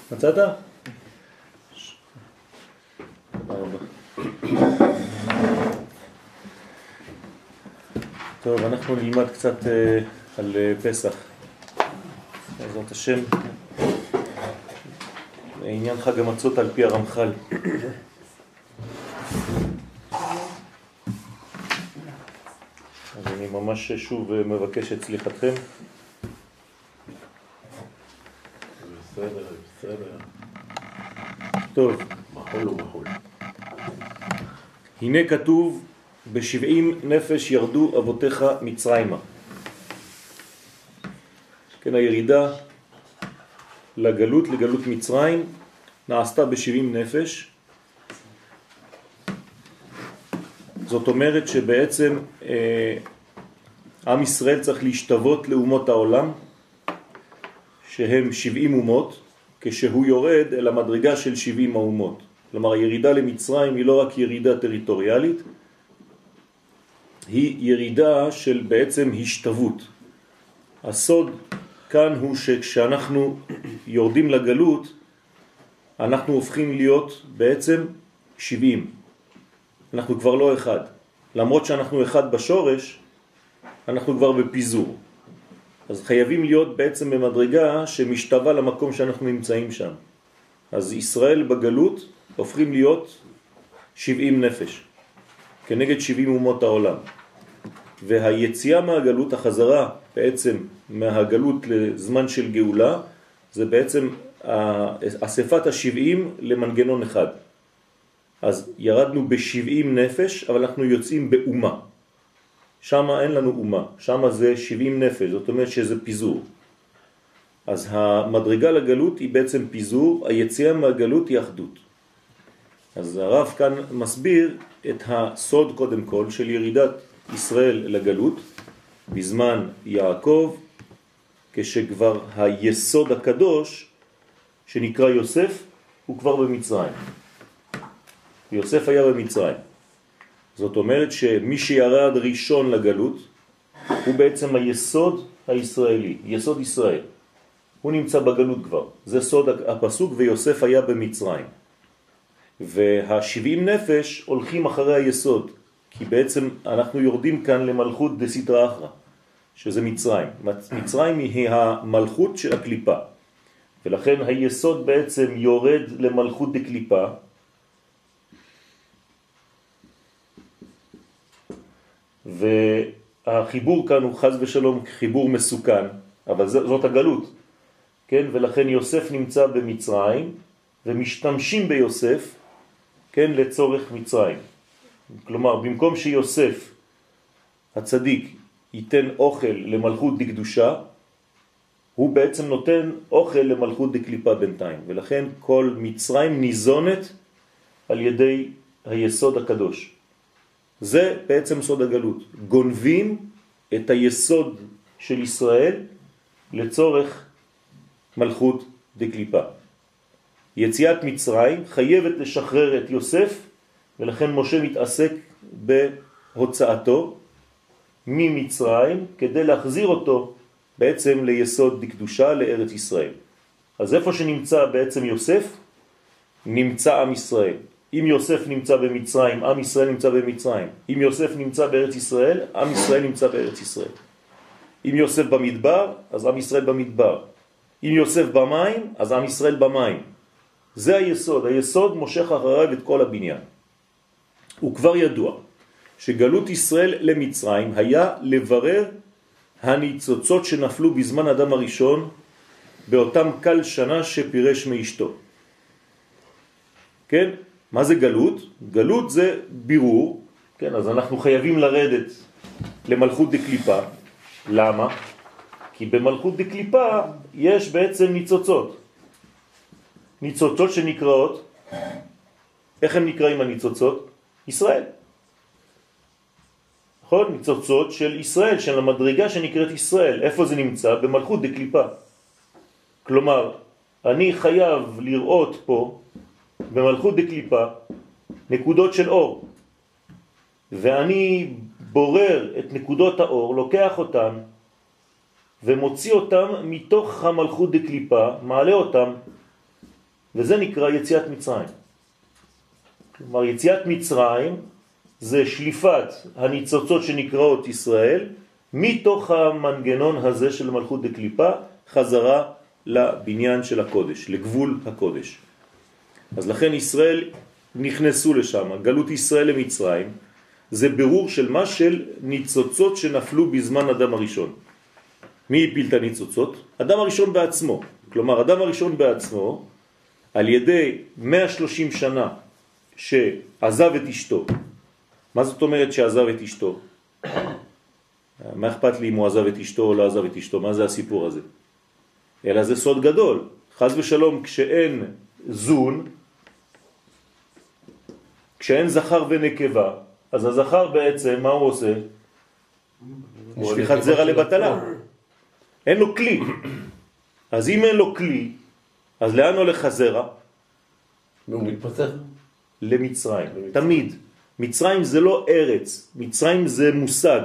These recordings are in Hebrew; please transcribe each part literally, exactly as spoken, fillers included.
מצאת? תודה רבה. טוב, אנחנו נלמד קצת על פסח. בעזרת השם, עניין חג המצות על פי הרמח"ל. אז אני ממש שוב מבקש את סליחתכם. בסדר, בסדר. טוב. מחול ומחול. הנה כתוב, בשבעים נפש ירדו אבותיך מצרימה. כן, הירידה לגלות, לגלות מצרים, נעשתה בשבעים נפש. זאת אומרת שבעצם אה, עם ישראל צריך להשתוות לאומות העולם, שהם שבעים אומות, כשהוא יורד אל המדרגה של שבעים האומות. כלומר, הירידה למצרים היא לא רק ירידה טריטוריאלית, היא ירידה של בעצם השתוות. הסוד כאן הוא שכשאנחנו יורדים לגלות, אנחנו הופכים להיות בעצם שבעים. אנחנו כבר לא אחד. למרות שאנחנו אחד בשורש, אנחנו כבר בפיזור. אז חייבים להיות בעצם במדרגה שמשתווה למקום שאנחנו נמצאים שם. אז ישראל בגלות הופכים להיות שבעים נפש, כנגד שבעים אומות העולם. והיציאה מהגלות, החזרה בעצם מהגלות לזמן של גאולה, זה בעצם אספת השבעים למנגנון אחד. אז ירדנו בשבעים נפש, אבל אנחנו יוצאים באומה. שם אין לנו אומה, שם זה שבעים נפש, זאת אומרת שזה פיזור. אז המדרגה לגלות היא בעצם פיזור, היציאה מהגלות היא אחדות. אז הרב כאן מסביר את הסוד קודם כל של ירידת ישראל לגלות, בזמן יעקב, כשכבר היסוד הקדוש שנקרא יוסף הוא כבר במצרים. יוסף היה במצרים. זאת אומרת שמי שירד ראשון לגלות הוא בעצם היסוד הישראלי, יסוד ישראל. הוא נמצא בגלות כבר. זה סוד הפסוק, ויוסף היה במצרים. והשבעים נפש הולכים אחרי היסוד, כי בעצם אנחנו יורדים כאן למלכות דסיטרא אחרא, שזה מצרים. מצרים היא המלכות של הקליפה. ולכן היסוד בעצם יורד למלכות דקליפה, והחיבור כאן הוא חז ושלום חיבור מסוכן, אבל זאת הגלות, כן? ולכן יוסף נמצא במצרים, ומשתמשים ביוסף, כן, לצורך מצרים. כלומר, במקום שיוסף הצדיק ייתן אוכל למלכות דקדושה, הוא בעצם נותן אוכל למלכות דקליפה בינתיים, ולכן כל מצרים ניזונת על ידי היסוד הקדוש. זה בעצם סוד הגלות. גונבים את היסוד של ישראל לצורך מלכות דקליפה. יציאת מצרים חייבת לשחרר את יוסף, ולכן משה מתעסק בהוצאתו ממצרים כדי להחזיר אותו בעצם ליסוד דקדושה לארץ ישראל. אז איפה שנמצא בעצם יוסף, נמצא עם ישראל. אם יוסף נמצא במצרים, עם ישראל נמצא במצרים. אם יוסף נמצא בארץ ישראל, עם ישראל נמצא בארץ ישראל. אם יוסף במדבר, אז עם ישראל במדבר. אם יוסף במים, אז עם ישראל במים. זה היסוד. היסוד מושך אחריו את כל הבניין. הוא כבר ידוע שגלות ישראל למצרים היה לברר הניצוצות שנפלו בזמן אדם הראשון באותם קל שנה שפירש מאשתו. כן? מה זה גלות? גלות זה בירור, כן? אז אנחנו חייבים לרדת למלכות דקליפה. למה? כי במלכות דקליפה יש בעצם ניצוצות. ניצוצות שנקראות, איך הם נקראים הניצוצות? ישראל. נכון? ניצוצות של ישראל, של המדרגה שנקראת ישראל. איפה זה נמצא? במלכות דקליפה. כלומר, אני חייב לראות פה במלכות דקליפה נקודות של אור, ואני בורר את נקודות האור, לוקח אותן ומוציא אותם מתוך המלכות דקליפה, מעלה אותם וזה נקרא יציאת מצרים. כלומר, יציאת מצרים זה שליפת הניצוצות שנקראות ישראל, מתוך המנגנון הזה של מלכות דקליפה, חזרה לבניין של הקודש, לגבול הקודש. אז לכן ישראל נכנסו לשם, גלות ישראל למצרים, זה ברור של מה? של ניצוצות שנפלו בזמן אדם הראשון. מי הפיל את הניצוצות? אדם הראשון בעצמו. כלומר, אדם הראשון בעצמו, על ידי מאה ושלושים שנה שעזב את אשתו. מה זאת אומרת שעזב את אשתו? מה אכפת לי אם הוא עזב את אשתו או לא עזב את אשתו? מה זה הסיפור הזה? אלא זה סוד גדול. חס ושלום, כשאין זון, כשאין זכר ונקבה, אז הזכר בעצם, מה הוא עושה? שליחת זרע לבטלה. אין לו כלי. אז אם אין לו כלי, אז לאן הולך הזרע? והוא מתפתח. למצרים. תמיד. מצרים זה לא ארץ. מצרים זה מושג.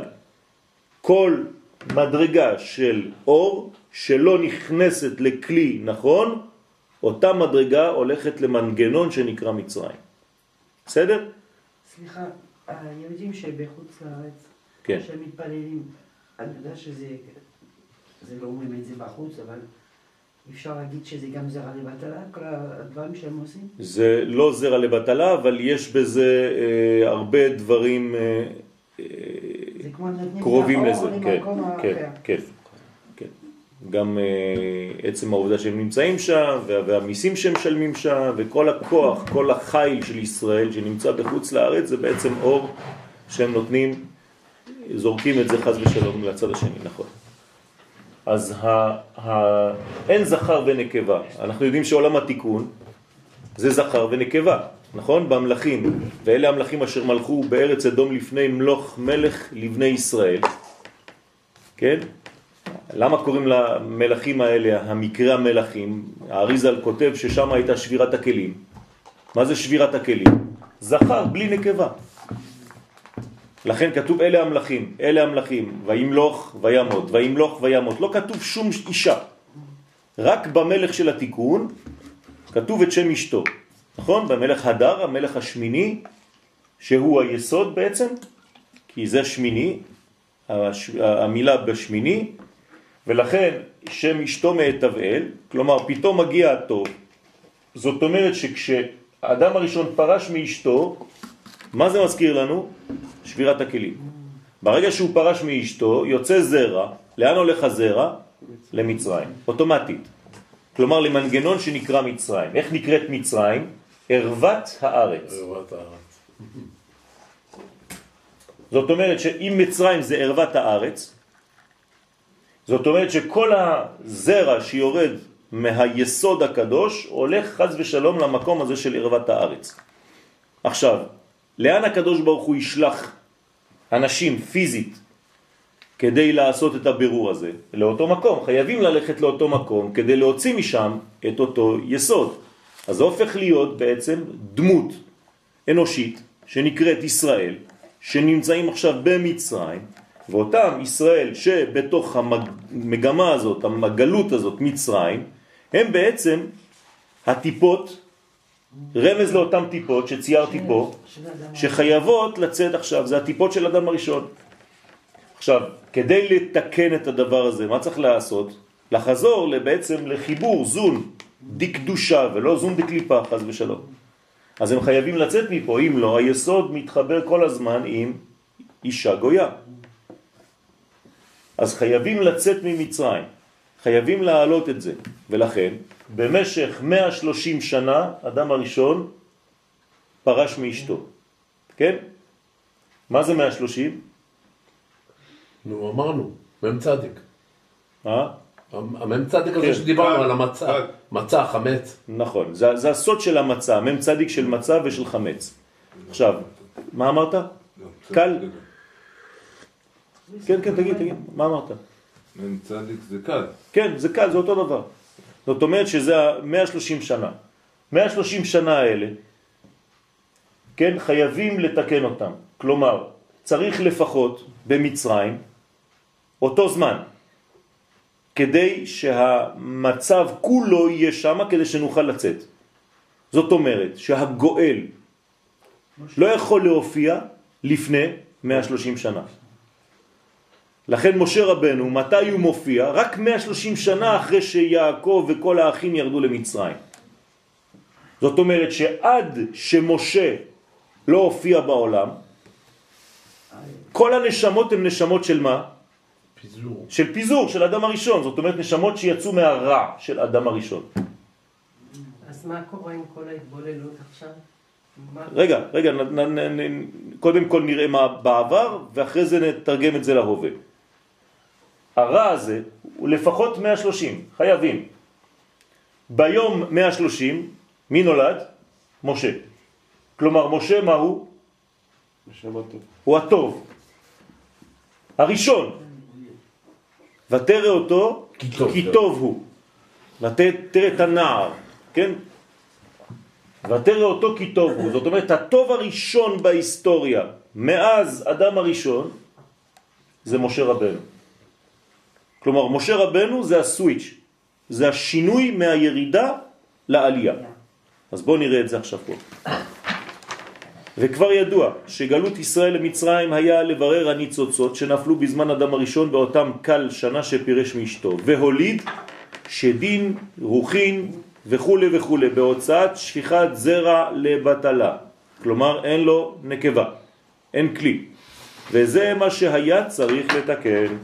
כל מדרגה של אור שלא נכנסת לכלי נכון, אותה מדרגה הולכת למנגנון שנקרא מצרים. בסדר? סליחה, היהודים שבחוץ לארץ, כן. שמתפללים, אני יודע שזה, זה לא אומרים את זה בחוץ, אבל אפשר להגיד שזה גם זרע לבטלה, כל הדברים שהם עושים? זה לא זרע לבטלה, אבל יש בזה אה, הרבה דברים אה, זה כמו קרובים לזה. כן, כן, כן, כן, כן. גם אה, עצם העובדה שהם נמצאים שם, וה, והמיסים שהם משלמים שם, וכל הכוח, כל החיל של ישראל שנמצא בחוץ לארץ, זה בעצם אור שהם נותנים, זורקים את זה חס ושלום לצד השני, נכון. אז ה, ה, אין זכר ונקבה. אנחנו יודעים שעולם התיקון זה זכר ונקבה, נכון? במלכים. ואלה המלכים אשר מלכו בארץ אדום לפני מלוך מלך לבני ישראל. כן? למה קוראים למלכים האלה המקרה המלכים? האריזל כותב ששם הייתה שבירת הכלים. מה זה שבירת הכלים? זכר בלי נקבה. לכן כתוב אלה המלכים, אלה המלכים, וימלוך וימות, וימלוך וימות. לא כתוב שום אישה. רק במלך של התיקון כתוב את שם אשתו. נכון? במלך הדר, המלך השמיני, שהוא היסוד בעצם, כי זה שמיני, המילה בשמיני, ולכן שם אשתו מהתבאל, כלומר פתאום מגיע הטוב. זאת אומרת שכשאדם הראשון פרש מאשתו, מה זה מזכיר לנו? שבירת הכלים. ברגע שהוא פרש מאשתו, יוצא זרע. לאן הולך הזרע? למצרים. אוטומטית. כלומר למנגנון שנקרא מצרים. איך נקראת מצרים? ערוות הארץ. ערוות הארץ. זאת אומרת שאם מצרים זה ערוות הארץ, זאת אומרת שכל הזרע שיורד מהיסוד הקדוש הולך חס ושלום למקום הזה של ערוות הארץ. עכשיו, לאן הקדוש ברוך הוא ישלח אנשים פיזית כדי לעשות את הבירור הזה? לאותו מקום. חייבים ללכת לאותו מקום כדי להוציא משם את אותו יסוד. אז זה הופך להיות בעצם דמות אנושית שנקראת ישראל, שנמצאים עכשיו במצרים, ואותם ישראל שבתוך המגמה הזאת, המגלות הזאת, מצרים, הם בעצם הטיפות, רמז לאותם טיפות שציירתי פה, שחייבות לצאת עכשיו, זה הטיפות של אדם הראשון. עכשיו, כדי לתקן את הדבר הזה, מה צריך לעשות? לחזור בעצם לחיבור זון דקדושה ולא זון דקליפה, חס ושלום. אז הם חייבים לצאת מפה, אם לא, היסוד מתחבר כל הזמן עם אישה גויה. אז חייבים לצאת ממצרים, חייבים להעלות את זה, ולכן במשך מאה ושלושים שנה אדם הראשון פרש מאשתו. כן? מה זה מאה ושלושים? נו, אמרנו, מם צדיק. אה? המם צדיק הזה שדיברנו על המצה, מצה, חמץ. נכון, זה, זה הסוד של המצה, מם צדיק של מצה ושל חמץ. עכשיו, מה אמרת? קל? כן, כן, תגיד, תגיד, מה אמרת? מם צדיק זה קל. כן, זה קל, זה אותו דבר. זאת אומרת שזה מאה ושלושים שנה. מאה ושלושים שנה האלה, כן, חייבים לתקן אותם. כלומר, צריך לפחות במצרים אותו זמן, כדי שהמצב כולו יהיה שם כדי שנוכל לצאת. זאת אומרת שהגואל לא יכול להופיע לפני מאה ושלושים שנה. לכן משה רבנו, מתי הוא מופיע? רק מאה ושלושים שנה אחרי שיעקב וכל האחים ירדו למצרים. זאת אומרת שעד שמשה לא הופיע בעולם, כל הנשמות הן נשמות של מה? פיזור. של פיזור, של אדם הראשון. זאת אומרת נשמות שיצאו מהרע של אדם הראשון. אז מה קורה עם כל ההתבוללות עכשיו? רגע, רגע, נ, נ, נ, נ, קודם כל נראה מה בעבר, ואחרי זה נתרגם את זה להווה. הרע הזה הוא לפחות מאה ושלושים, חייבים. ביום מאה ושלושים, מי נולד? משה. כלומר, משה מה הוא? הוא הטוב. הראשון. ותראה אותו, כי טוב, כי טוב הוא. ותראה את הנער, כן? ותראה אותו כי טוב הוא. זאת אומרת, הטוב הראשון בהיסטוריה, מאז אדם הראשון, זה משה רבנו. כלומר, משה רבנו זה הסוויץ', זה השינוי מהירידה לעלייה. אז בואו נראה את זה עכשיו פה. וכבר ידוע שגלות ישראל למצרים היה לברר הניצוצות שנפלו בזמן אדם הראשון באותם קל שנה שפירש מאשתו, והוליד שדין, רוחין וכו' וכו', בהוצאת שפיכת זרע לבטלה. כלומר, אין לו נקבה, אין כלי. וזה מה שהיה צריך לתקן.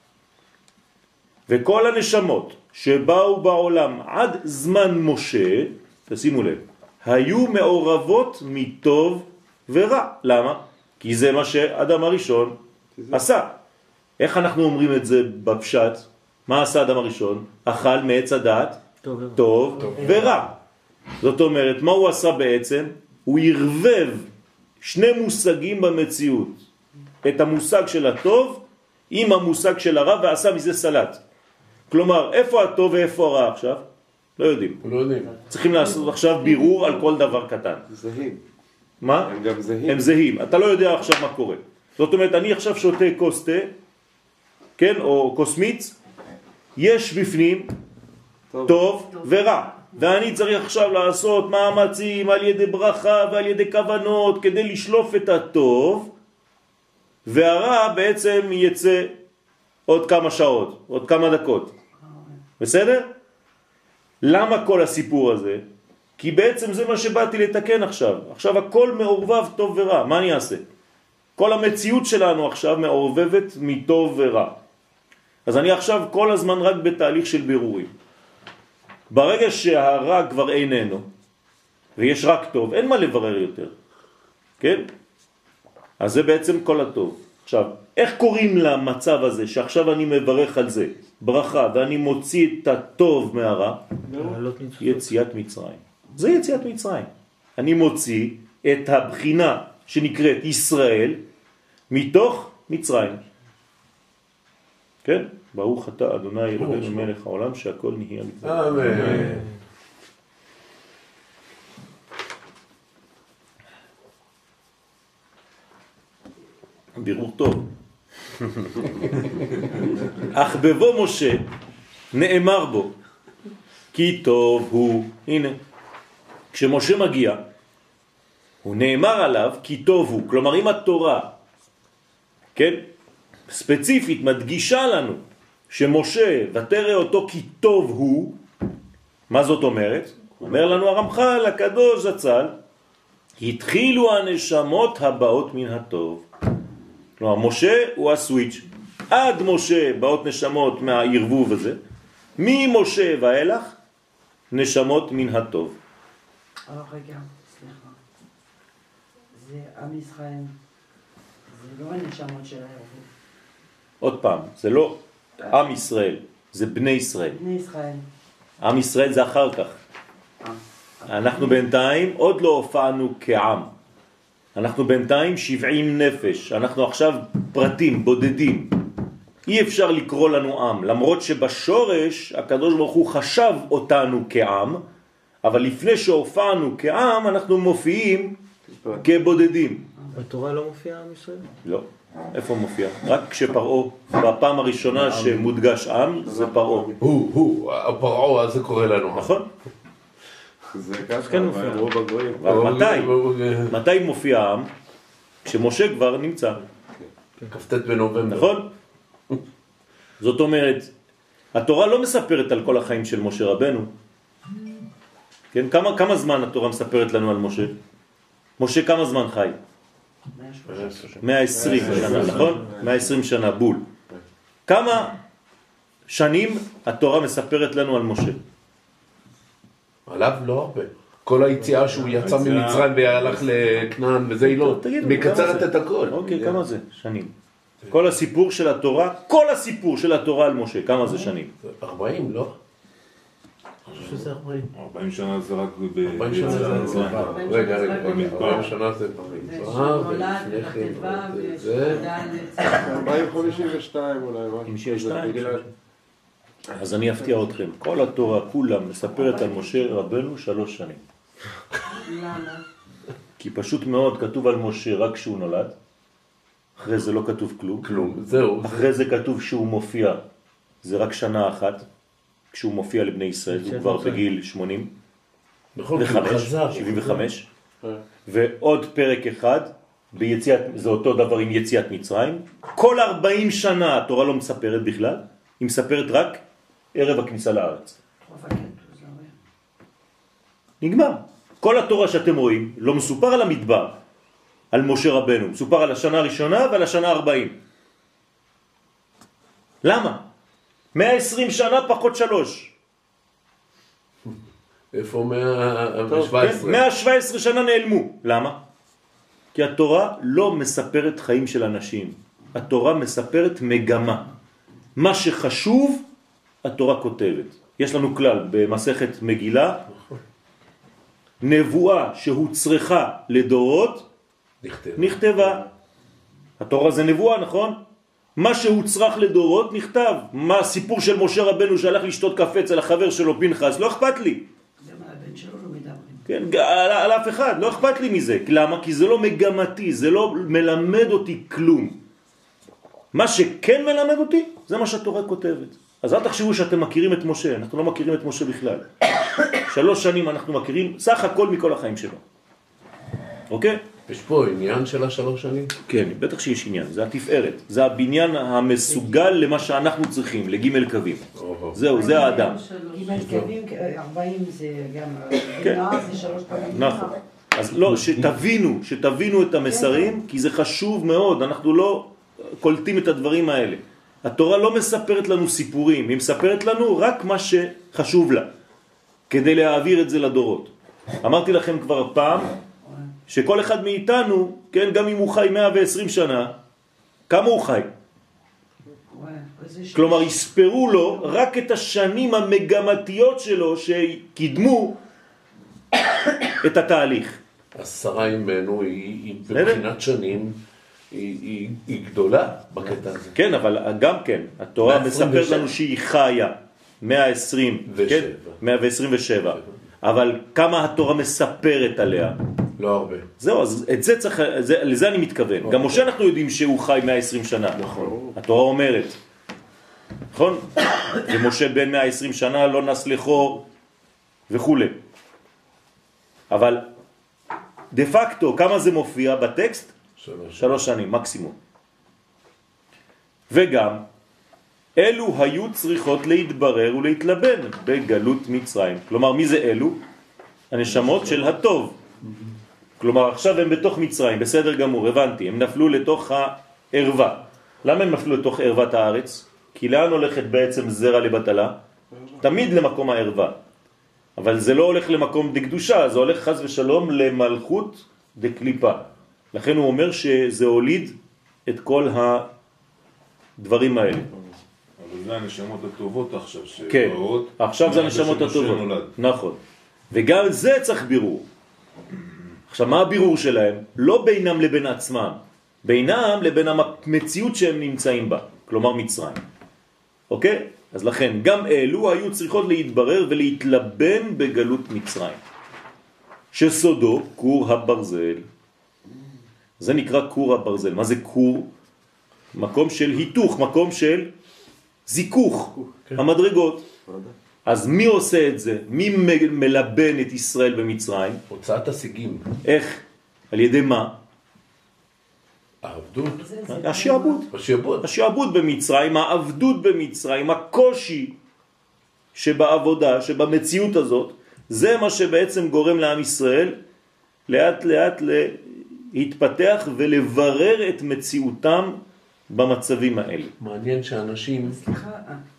וכל הנשמות שבאו בעולם עד זמן משה, תשימו לב, היו מעורבות מטוב ורע. למה? כי זה מה שאדם הראשון עשה. איך אנחנו אומרים את זה בפשט? מה עשה אדם הראשון? אכל מעץ הדעת טוב, טוב, טוב ורע. זאת אומרת, מה הוא עשה בעצם? הוא ירבב שני מושגים במציאות. את המושג של הטוב עם המושג של הרע, ועשה מזה סלט. כלומר, איפה הטוב ואיפה הרע עכשיו? לא יודעים. לא יודעים. צריכים לעשות עכשיו בירור על כל דבר קטן. זהים. מה? הם גם זהים. הם זהים. אתה לא יודע עכשיו מה קורה. זאת אומרת, אני עכשיו שותה כוס תה, כן, או כוס מיץ, יש בפנים טוב, טוב, טוב ורע. ואני צריך עכשיו לעשות מאמצים על ידי ברכה ועל ידי כוונות כדי לשלוף את הטוב, והרע בעצם יצא עוד כמה שעות, עוד כמה דקות. בסדר? למה כל הסיפור הזה? כי בעצם זה מה שבאתי לתקן עכשיו. עכשיו הכל מעורבב טוב ורע. מה אני אעשה? כל המציאות שלנו עכשיו מעורבבת מטוב ורע. אז אני עכשיו כל הזמן רק בתהליך של בירורים. ברגע שהרע כבר איננו, ויש רק טוב, אין מה לברר יותר. כן? אז זה בעצם כל הטוב. עכשיו, איך קוראים למצב הזה שעכשיו אני מברך על זה? ברכה, ואני מוציא את הטוב מהרע? יציאת מצרים. זה יציאת מצרים. אני מוציא את הבחינה שנקראת ישראל מתוך מצרים. כן? ברוך אתה אדוני אלוהינו מלך העולם שהכל נהיה מצרים. אמן. בירור טוב. אך בבוא משה נאמר בו כי טוב הוא. הנה, כשמשה מגיע הוא נאמר עליו כי טוב הוא. כלומר, אם התורה, כן, ספציפית מדגישה לנו שמשה ותראה אותו כי טוב הוא, מה זאת אומרת? אומר לנו הרמח"ל הקדוש זצ"ל, התחילו הנשמות הבאות מן הטוב. כלומר, משה הוא הסוויץ'. עד משה באות נשמות מהערבוב הזה, ממשה ואילך נשמות מן הטוב. אבל רגע, סליחה. זה עם ישראל, זה לא הנשמות של הערבוב. עוד פעם, זה לא עם ישראל, זה בני ישראל. בני ישראל. עם ישראל זה אחר כך. אנחנו בינתיים עוד לא הופענו כעם. אנחנו בינתיים שבעים נפש. אנחנו עכשיו פרטים, בודדים. אי אפשר לקרוא לנו עם, למרות שבשורש הקדוש ברוך הוא חשב אותנו כעם, אבל לפני שהופענו כעם אנחנו מופיעים כבודדים. בתורה לא מופיע עם ישראל? לא. איפה מופיע? רק כשפרעו, בפעם הראשונה שמודגש עם, זה פרעו. הוא, הוא, הפרעו, אז זה קורה לנו. נכון? זה ככה, כן מופיע. רוב הגויים. אבל מתי? מתי מופיע העם? כשמשה כבר נמצא. כ"ט בנובמבר. נכון? זאת אומרת, התורה לא מספרת על כל החיים של משה רבנו. כן? כמה, כמה זמן התורה מספרת לנו על משה? משה כמה זמן חי? מאה ועשרים שנה, נכון? מאה ועשרים שנה, בול. כמה שנים התורה מספרת לנו על משה? עליו לא הרבה. כל היציאה שהוא יצא ממצרים והלך לכנען וזה היא לא. מקצרת את הכל. אוקיי, כמה זה? שנים. כל הסיפור של התורה, כל הסיפור של התורה על משה, כמה זה שנים? ארבעים, לא? אני חושב שזה ארבעים. ארבעים שנה זה רק ב... ארבעים שנה זה... רגע, רגע, ארבעים שנה זה במדבר, נולד בכתבה ושגדל ארבעים חמישים ושתיים אולי, משהו. חמישים ושתיים. אז אני אפתיע אתכם, כל התורה כולה מספרת על משה רבנו שלוש שנים. למה? כי פשוט מאוד כתוב על משה רק כשהוא נולד, אחרי זה לא כתוב כלום. כלום, זהו. אחרי זה כתוב שהוא מופיע, זה רק שנה אחת, כשהוא מופיע לבני ישראל, הוא כבר בגיל שמונים וחמש, שבעים וחמש, ועוד פרק אחד, ביציאת, זה אותו דבר עם יציאת מצרים, כל ארבעים שנה התורה לא מספרת בכלל, היא מספרת רק ערב הכניסה לארץ. נגמר. כל התורה שאתם רואים לא מסופר על המדבר, על משה רבנו, מסופר על השנה הראשונה ועל השנה ארבעים. למה? מאה ועשרים שנה פחות שלוש. איפה מאה שבע עשרה? מאה שבע עשרה שנה נעלמו. למה? כי התורה לא מספרת חיים של אנשים. התורה מספרת מגמה. מה שחשוב, התורה כותבת. יש לנו כלל במסכת מגילה, נבואה שהוצרכה לדורות, נכתבה. נכתבה. התורה זה נבואה, נכון? מה שהוצרך לדורות נכתב. מה הסיפור של משה רבנו שהלך לשתות קפה אצל החבר שלו פנחס, לא אכפת לי. גם על הבן שלו לא מדברים. כן, על, על אף אחד, לא אכפת לי מזה. למה? כי זה לא מגמתי, זה לא מלמד אותי כלום. מה שכן מלמד אותי, זה מה שהתורה כותבת. אז אל תחשבו שאתם מכירים את משה, אנחנו לא מכירים את משה בכלל. שלוש שנים אנחנו מכירים סך הכל מכל החיים שלו. אוקיי? יש פה עניין של השלוש שנים? כן, בטח שיש עניין, זה התפארת. זה הבניין המסוגל למה שאנחנו צריכים, לג' קווים. זהו, זה האדם. ג' קווים, ארבעים זה גם... כן. זה שלוש פעמים. נכון. אז לא, שתבינו, שתבינו את המסרים, כי זה חשוב מאוד, אנחנו לא קולטים את הדברים האלה. התורה לא מספרת לנו סיפורים, היא מספרת לנו רק מה שחשוב לה, כדי להעביר את זה לדורות. אמרתי לכם כבר פעם, שכל אחד מאיתנו, כן, גם אם הוא חי מאה ועשרים שנה, כמה הוא חי? כלומר, יספרו לו רק את השנים המגמתיות שלו שקידמו את התהליך. עשרה ימינו היא בבחינת שנים, היא, היא, היא גדולה בקטע הזה. כן, אבל גם כן, התורה מספרת לנו שהיא חיה מאה ועשרים ושבע, אבל כמה התורה מספרת עליה? לא הרבה. זהו, אז את זה צריך, זה, לזה אני מתכוון. גם משה אנחנו יודעים שהוא חי מאה ועשרים שנה. נכון. התורה אומרת, נכון? ומשה בן מאה ועשרים שנה לא נס לחור וכו'. אבל דה פקטו, כמה זה מופיע בטקסט? שלוש. שלוש שנים, מקסימום. וגם, אלו היו צריכות להתברר ולהתלבן בגלות מצרים. כלומר, מי זה אלו? הנשמות של הטוב. כלומר, עכשיו הם בתוך מצרים, בסדר גמור, הבנתי, הם נפלו לתוך הערווה. למה הם נפלו לתוך ערוות הארץ? כי לאן הולכת בעצם זרע לבטלה? תמיד למקום הערווה. אבל זה לא הולך למקום דקדושה, זה הולך חס ושלום למלכות דקליפה. לכן הוא אומר שזה הוליד את כל הדברים האלה. אבל זה הנשמות הטובות עכשיו. כן, עכשיו זה הנשמות הטובות. נכון. וגם זה צריך בירור. עכשיו, מה הבירור שלהם? לא בינם לבין עצמם, בינם לבין המציאות שהם נמצאים בה, כלומר מצרים. אוקיי? אז לכן, גם אלו היו צריכות להתברר ולהתלבן בגלות מצרים. שסודו, קור הברזל. זה נקרא קור הברזל. מה זה קור? מקום של היתוך, מקום של זיכוך, המדרגות. אז מי עושה את זה? מי מלבן את ישראל במצרים? הוצאת השיגים. איך? על ידי מה? העבדות. השעבוד. השעבוד. השעבוד במצרים, העבדות במצרים, הקושי שבעבודה, שבמציאות הזאת, זה מה שבעצם גורם לעם ישראל לאט לאט להתפתח ולברר את מציאותם במצבים האלה. מעניין שאנשים סליחה,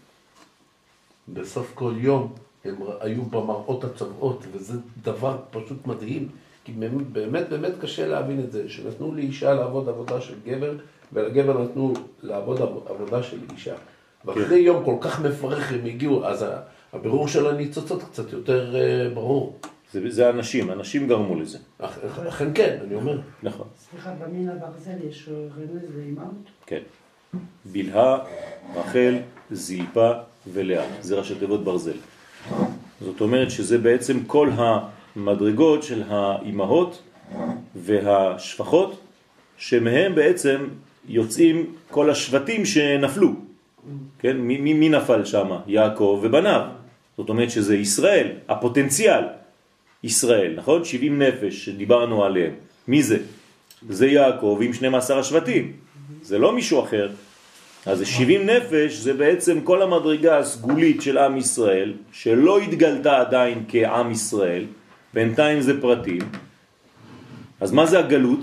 בסוף כל יום הם היו במראות הצבעות, וזה דבר פשוט מדהים, כי באמת באמת קשה להבין את זה, שנתנו לאישה לעבוד עבודה של גבר, ולגבר נתנו לעבוד עבודה של אישה. ואחרי יום כל כך מפרך הם הגיעו, אז הבירור של הניצוצות קצת יותר ברור. זה, זה אנשים, אנשים גרמו לזה. אכן כן, אני אומר. נכון. סליחה, במין הברזל יש רמז לאימהות? כן. בלהה, רחל, זילפה ולאה. זה ראשי תיבות ברזל. זאת אומרת שזה בעצם כל המדרגות של האימהות והשפחות, שמהם בעצם יוצאים כל השבטים שנפלו. כן? מי, מי, מי נפל שם? יעקב ובניו. זאת אומרת שזה ישראל, הפוטנציאל. ישראל, נכון? שבעים נפש שדיברנו עליהם. מי זה? זה יעקב עם שנים עשר השבטים. זה לא מישהו אחר. אז שבעים נפש זה בעצם כל המדרגה הסגולית של עם ישראל, שלא התגלתה עדיין כעם ישראל, בינתיים זה פרטים. אז מה זה הגלות?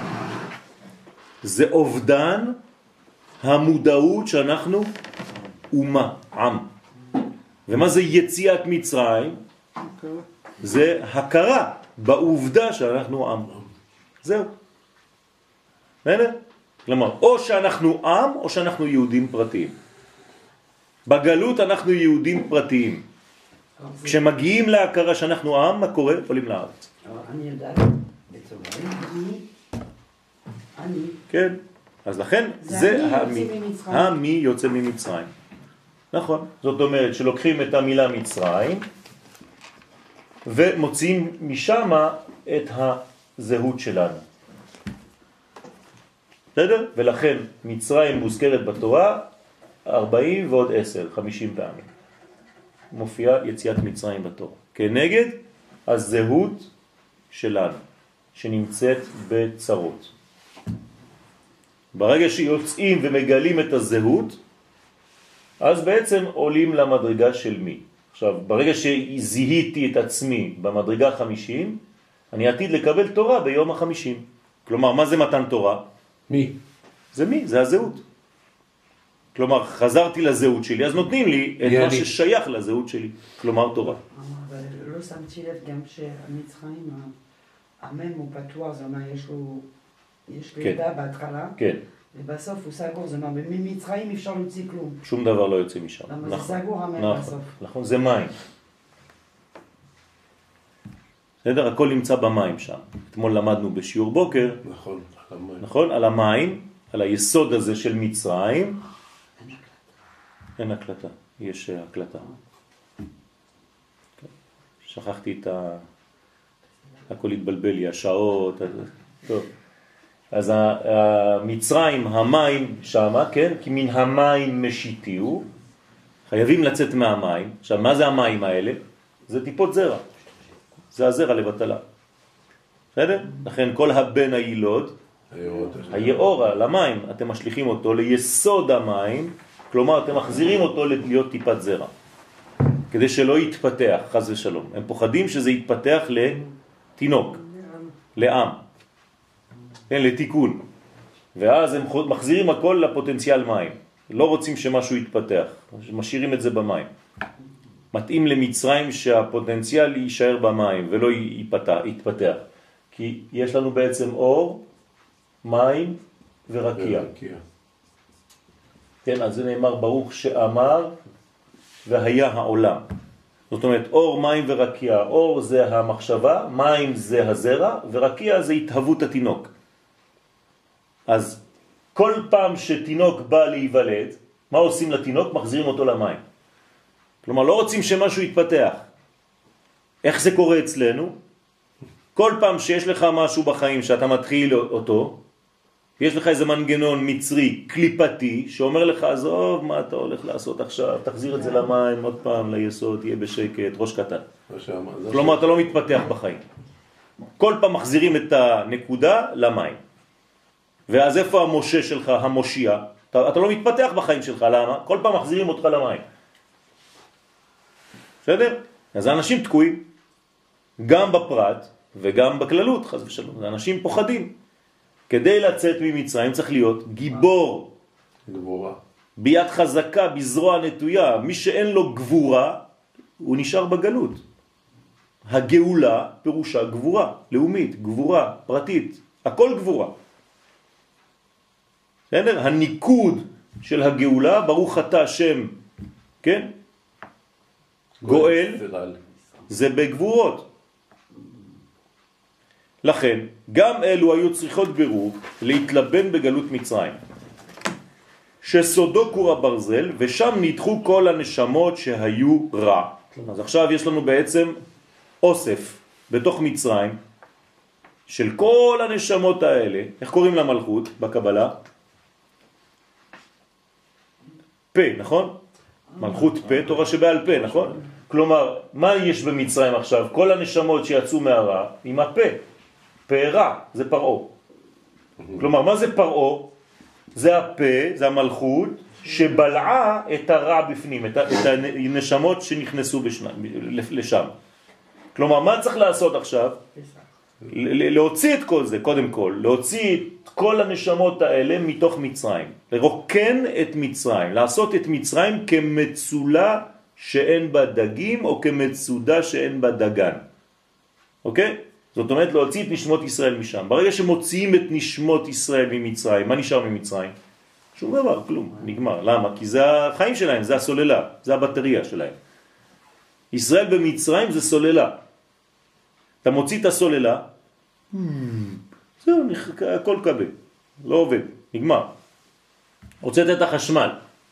זה אובדן המודעות שאנחנו אומה, עם. ומה זה יציאת מצרים? זה הכרה בעובדה שאנחנו עם. זהו. בסדר? כלומר, או שאנחנו עם או שאנחנו יהודים פרטיים. בגלות אנחנו יהודים פרטיים. כשמגיעים להכרה שאנחנו עם, מה קורה? עולים לארץ. אני יודעת, בצורה, אני, אני. כן. אז לכן זה המי. המי יוצא ממצרים. נכון. זאת אומרת שלוקחים את המילה מצרים ומוציאים משם את הזהות שלנו. בסדר? ולכן מצרים מוזכרת בתורה ארבעים ועוד עשר, חמישים פעמים. מופיעה יציאת מצרים בתורה. כנגד הזהות שלנו, שנמצאת בצרות. ברגע שיוצאים ומגלים את הזהות, אז בעצם עולים למדרגה של מי. עכשיו, ברגע שזיהיתי את עצמי במדרגה חמישים, אני עתיד לקבל תורה ביום החמישים. כלומר, מה זה מתן תורה? מי? זה מי? זה הזהות. כלומר, חזרתי לזהות שלי, אז נותנים לי את מה ששייך לזהות שלי. כלומר, תורה. אבל לא שמתי לב גם שהמצרים, המם הוא פתוח, זאת אומרת, יש לו, יש לו ידע בהתחלה. כן. ובסוף הוא סגור, זאת אומרת, ממצרים אפשר להוציא כלום. שום דבר לא יוצא משם. למה זה סגור המם בסוף? נכון, זה מים. בסדר? הכל נמצא במים שם. אתמול למדנו בשיעור בוקר. נכון, על המים. נכון? על המים, על היסוד הזה של מצרים. אין הקלטה, יש הקלטה. שכחתי את ה... הכל התבלבל לי, השעות. טוב. אז המצרים, המים שם, כן? כי מן המים משיתיהו. חייבים לצאת מהמים. עכשיו, מה זה המים האלה? זה טיפות זרע. זה הזרע לבטלה. בסדר? לכן כל הבן הילוד, היאורה, למים, אתם משליכים אותו ליסוד המים, כלומר אתם מחזירים אותו להיות טיפת זרע. כדי שלא יתפתח, חס ושלום. הם פוחדים שזה יתפתח לתינוק, לעם, כן, לתיקון. ואז הם מחזירים הכל לפוטנציאל מים. לא רוצים שמשהו יתפתח, משאירים את זה במים. מתאים למצרים שהפוטנציאל יישאר במים ולא יתפתח, יתפתח. כי יש לנו בעצם אור, מים ורקיע. כן, אז זה נאמר ברוך שאמר והיה העולם. זאת אומרת, אור, מים ורקיע. אור זה המחשבה, מים זה הזרע, ורקיע זה התהוות התינוק. אז כל פעם שתינוק בא להיוולד, מה עושים לתינוק? מחזירים אותו למים. כלומר, לא רוצים שמשהו יתפתח. איך זה קורה אצלנו? כל פעם שיש לך משהו בחיים שאתה מתחיל אותו, יש לך איזה מנגנון מצרי, קליפתי, שאומר לך, עזוב, מה אתה הולך לעשות עכשיו? תחזיר את זה למים, עוד פעם ליסוד, תהיה בשקט, ראש קטן. כלומר, אתה לא מתפתח בחיים. כל פעם מחזירים את הנקודה למים. ואז איפה המשה שלך, המושיע? אתה, אתה לא מתפתח בחיים שלך, למה? כל פעם מחזירים אותך למים. בסדר? אז האנשים תקועים, גם בפרט וגם בכללות, חס ושלום. האנשים פוחדים. כדי לצאת ממצרים צריך להיות גיבור. גבורה. ביד חזקה, בזרוע נטויה. מי שאין לו גבורה, הוא נשאר בגלות. הגאולה פירושה גבורה, לאומית, גבורה, פרטית. הכל גבורה. בסדר? הניקוד של הגאולה, ברוך אתה השם, כן? גואל, זה בגבורות. לכן, גם אלו היו צריכות ברור להתלבן בגלות מצרים, שסודו קור הברזל, ושם נדחו כל הנשמות שהיו רע. אז עכשיו יש לנו בעצם אוסף בתוך מצרים של כל הנשמות האלה. איך קוראים למלכות בקבלה? פה, נכון? מלכות פה, תורה שבעל פה, נכון? כלומר, מה יש במצרים עכשיו? כל הנשמות שיצאו מהרע עם הפה. פה רע, זה פרעו. כלומר, מה זה פרעו? זה הפה, זה המלכות, שבלעה את הרע בפנים, את הנשמות שנכנסו לשם. כלומר, מה צריך לעשות עכשיו? להוציא את כל זה, קודם כל, להוציא את כל הנשמות האלה מתוך מצרים, לרוקן את מצרים, לעשות את מצרים כמצולה שאין בה דגים, או כמצודה שאין בה דגן. אוקיי? זאת אומרת, להוציא את נשמות ישראל משם. ברגע שמוציאים את נשמות ישראל ממצרים, מה נשאר ממצרים? שום דבר, כלום, נגמר. למה? כי זה החיים שלהם, זה הסוללה, זה הבטריה שלהם. ישראל במצרים זה סוללה. אתה מוציא את הסוללה, זהו, הכל קבל, לא עובד, נגמר. הוצאת את החשמל.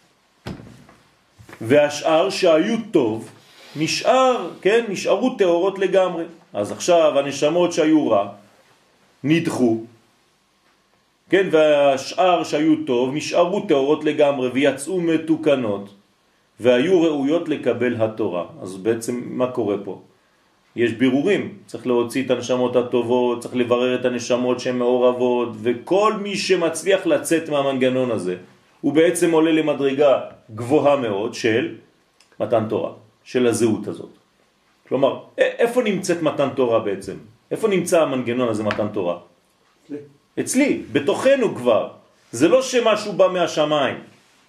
והשאר שהיו טוב, נשאר, כן, נשארו תאורות לגמרי. אז עכשיו הנשמות שהיו רע, נדחו, כן, והשאר שהיו טוב, נשארו תאורות לגמרי ויצאו מתוקנות, והיו ראויות לקבל התורה. אז בעצם מה קורה פה? יש בירורים, צריך להוציא את הנשמות הטובות, צריך לברר את הנשמות שהן מעורבות, וכל מי שמצליח לצאת מהמנגנון הזה, הוא בעצם עולה למדרגה גבוהה מאוד של מתן תורה, של הזהות הזאת. כלומר, איפה נמצאת מתן תורה בעצם? איפה נמצא המנגנון הזה מתן תורה? אצלי. אצלי, בתוכנו כבר. זה לא שמשהו בא מהשמיים.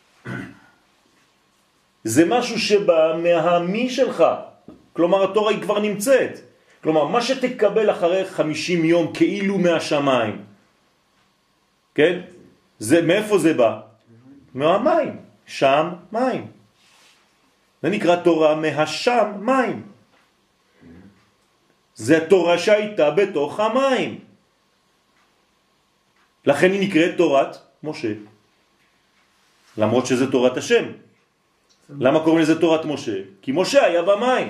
זה משהו שבא מהמי שלך. כלומר, התורה היא כבר נמצאת. כלומר, מה שתקבל אחרי חמישים יום כאילו מהשמיים, כן? זה, מאיפה זה בא? מהמים. שם מים. זה נקרא תורה מהשם מים. זה התורה שהייתה בתוך המים. לכן היא נקראת תורת משה. למרות שזה תורת השם. למה קוראים לזה תורת משה? כי משה היה במים.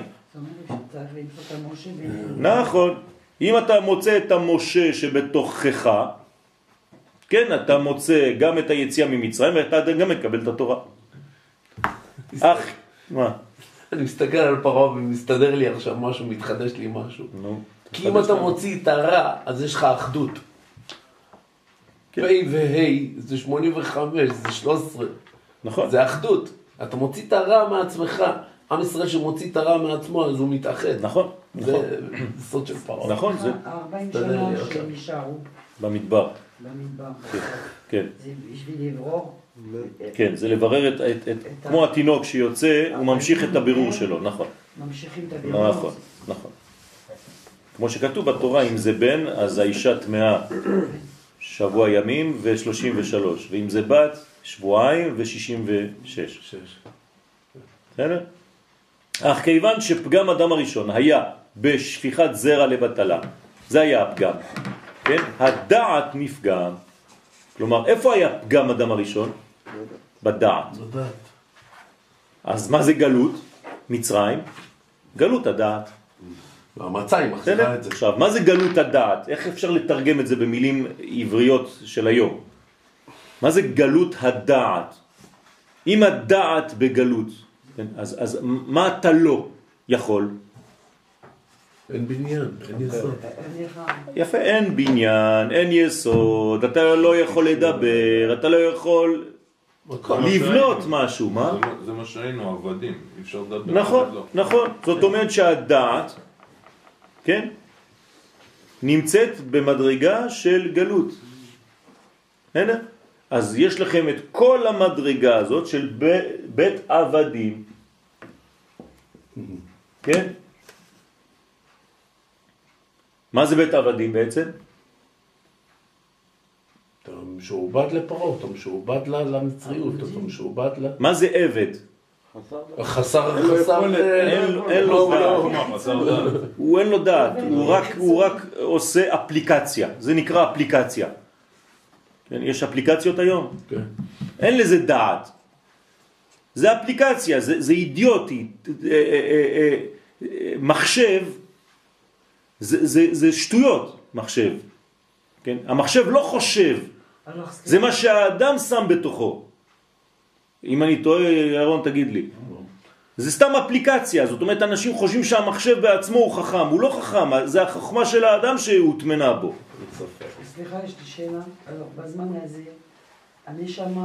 נכון. אם אתה מוצא את המשה שבתוכך, כן, אתה מוצא גם את היציאה ממצרים, ואתה גם מקבל את התורה. אך, מה? אני מסתכל על פרעה ומסתדר לי עכשיו משהו, מתחדש לי משהו. כי אם אתה מוציא את הרע, אז יש לך אחדות. פ' וה' זה שמונים וחמש, זה שלוש עשרה. נכון. זה אחדות. אתה מוציא את הרע מעצמך. עם ישראל שמוציא את הרע מעצמו, אז הוא מתאחד. נכון. זה סוד של פרעה. נכון, זה... ארבעים שנה שהם נשארו. במדבר. במדבר. כן. זה בשביל לברור. כן, זה לברר את, את, את, כמו התינוק שיוצא, הוא ממשיך את הבירור שלו, נכון. ממשיכים את הבירור. נכון, נכון. כמו שכתוב בתורה, אם זה בן, אז האישה תמאה שבוע ימים ו-שלושים ושלוש, ואם זה בת, שבועיים ו-שישים ושש. בסדר? אך כיוון שפגם אדם הראשון היה בשפיכת זרע לבטלה, זה היה הפגם, כן? הדעת נפגם. כלומר, איפה היה פגם אדם הראשון? בדעת. בדעת. אז מה זה גלות? מצרים? גלות הדעת. והמצרים מחזירה את זה. עכשיו, מה זה גלות הדעת? איך אפשר לתרגם את זה במילים עבריות של היום? מה זה גלות הדעת? אם הדעת בגלות, כן? אז, אז מה אתה לא יכול? אין בניין, אין יסוד. יפה, אין בניין, אין יסוד, אתה לא יכול לדבר, אתה לא יכול לבנות משהו, מה? זה, זה מה שהיינו, עבדים, אי אפשר לדבר. נכון, לא. נכון. זאת אומרת שהדעת, כן, נמצאת במדרגה של גלות. הנה? אז יש לכם את כל המדרגה הזאת של ב- בית עבדים. כן? מה זה בית עבדים בעצם? אתה משועבד לפרעה, אתה משועבד למצריות, אתה משועבד ל... מה זה עבד? חסר, אין לו חסר... יכולת. אין לו- אין לו דעת. הוא אין לו דעת, הוא רק, הוא רק עושה אפליקציה. זה נקרא אפליקציה. כן, יש אפליקציות היום. כן. אין לזה דעת. זה אפליקציה, זה, זה אידיוטי. אה, אה, אה, אה, מחשב, זה, זה, זה שטויות, מחשב. כן? המחשב לא חושב. זה מה שהאדם שם בתוכו. אם אני טועה, ירון, תגיד לי. זה סתם אפליקציה. זאת אומרת, אנשים חושבים שהמחשב בעצמו הוא חכם. הוא לא חכם, זה החוכמה של האדם שהותמנה בו. סליחה, יש לי שאלה. בזמן הזה, הנשמה,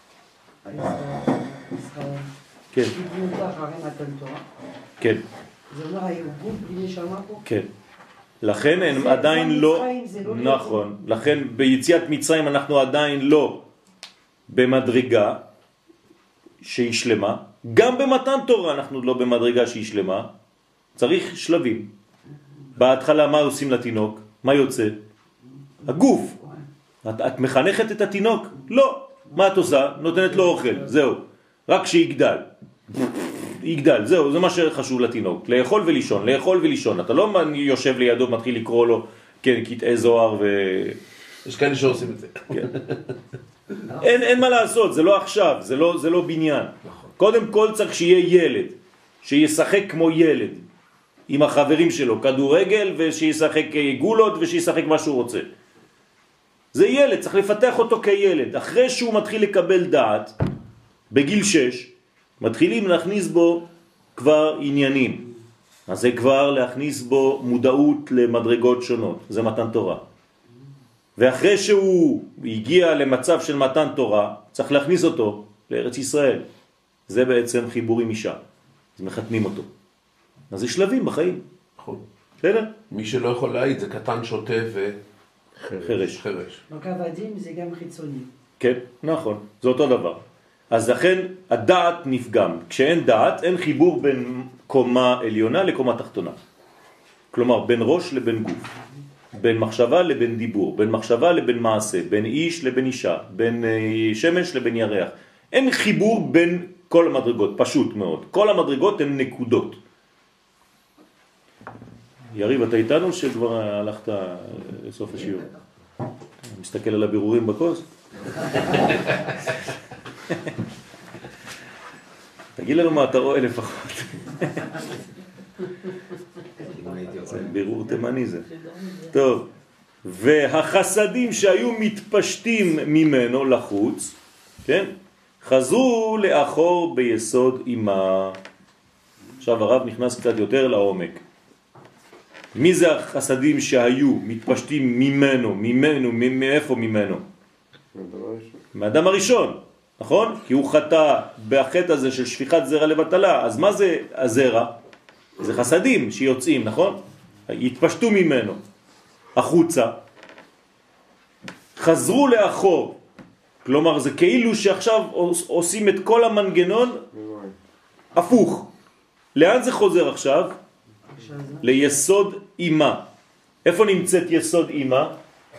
כן. קיבלו אותך הרי מתן תורה. כן. זה אומר, הירבון בלי נשמה פה? כן. לכן הם זה- עדיין זה לא... מצרים, זה לא נכון. לכן ביציאת מצרים אנחנו עדיין לא במדרגה שהיא שלמה. גם במתן תורה אנחנו לא במדרגה שהיא שלמה. צריך שלבים. בהתחלה מה עושים לתינוק? מה יוצא? הגוף. את, את מחנכת את התינוק? לא. מה את עושה? נותנת לו אוכל. זהו. רק שיגדל. יגדל. זהו. זה מה שחשוב לתינוק. לאכול ולישון. לאכול ולישון. אתה לא יושב לידו ומתחיל לקרוא לו, כן, קטעי זוהר ו... יש כאלה שעושים את זה. כן. אין, אין מה לעשות. זה לא עכשיו. זה לא, זה לא בניין. קודם כל צריך שיהיה ילד. שישחק כמו ילד. עם החברים שלו. כדורגל ושישחק גולות ושישחק מה שהוא רוצה. זה ילד, צריך לפתח אותו כילד. אחרי שהוא מתחיל לקבל דעת, בגיל שש, מתחילים להכניס בו כבר עניינים. אז זה כבר להכניס בו מודעות למדרגות שונות. זה מתן תורה. ואחרי שהוא הגיע למצב של מתן תורה, צריך להכניס אותו לארץ ישראל. זה בעצם חיבור עם אישה. אז מחתנים אותו. אז זה שלבים בחיים. נכון. בסדר? מי שלא יכול להעיד זה קטן, שוטה ו... חרש. חרש. רק עבדים זה גם חיצוני. כן, נכון, זה אותו דבר. אז לכן הדעת נפגם. כשאין דעת, אין חיבור בין קומה עליונה לקומה תחתונה. כלומר, בין ראש לבין גוף. בין מחשבה לבין דיבור. בין מחשבה לבין מעשה. בין איש לבין אישה. בין שמש לבין ירח. אין חיבור בין כל המדרגות, פשוט מאוד. כל המדרגות הן נקודות. יריב, אתה איתנו שכבר הלכת לסוף השיעור? מסתכל על הבירורים בכוס? תגיד לנו מה אתה רואה לפחות. זה בירור תימני זה. טוב, והחסדים שהיו מתפשטים ממנו לחוץ, כן? חזרו לאחור ביסוד אימה. עכשיו הרב נכנס קצת יותר לעומק. מי זה החסדים שהיו מתפשטים ממנו, ממנו, מאיפה ממנו? מהאדם הראשון, נכון? כי הוא חטא בחטא הזה של שפיכת זרע לבטלה. אז מה זה הזרע? זה חסדים שיוצאים, נכון? התפשטו ממנו החוצה, חזרו לאחור. כלומר זה כאילו שעכשיו עושים את כל המנגנון הפוך. לאן זה חוזר עכשיו? ליסוד אימה. איפה נמצאת יסוד אימה?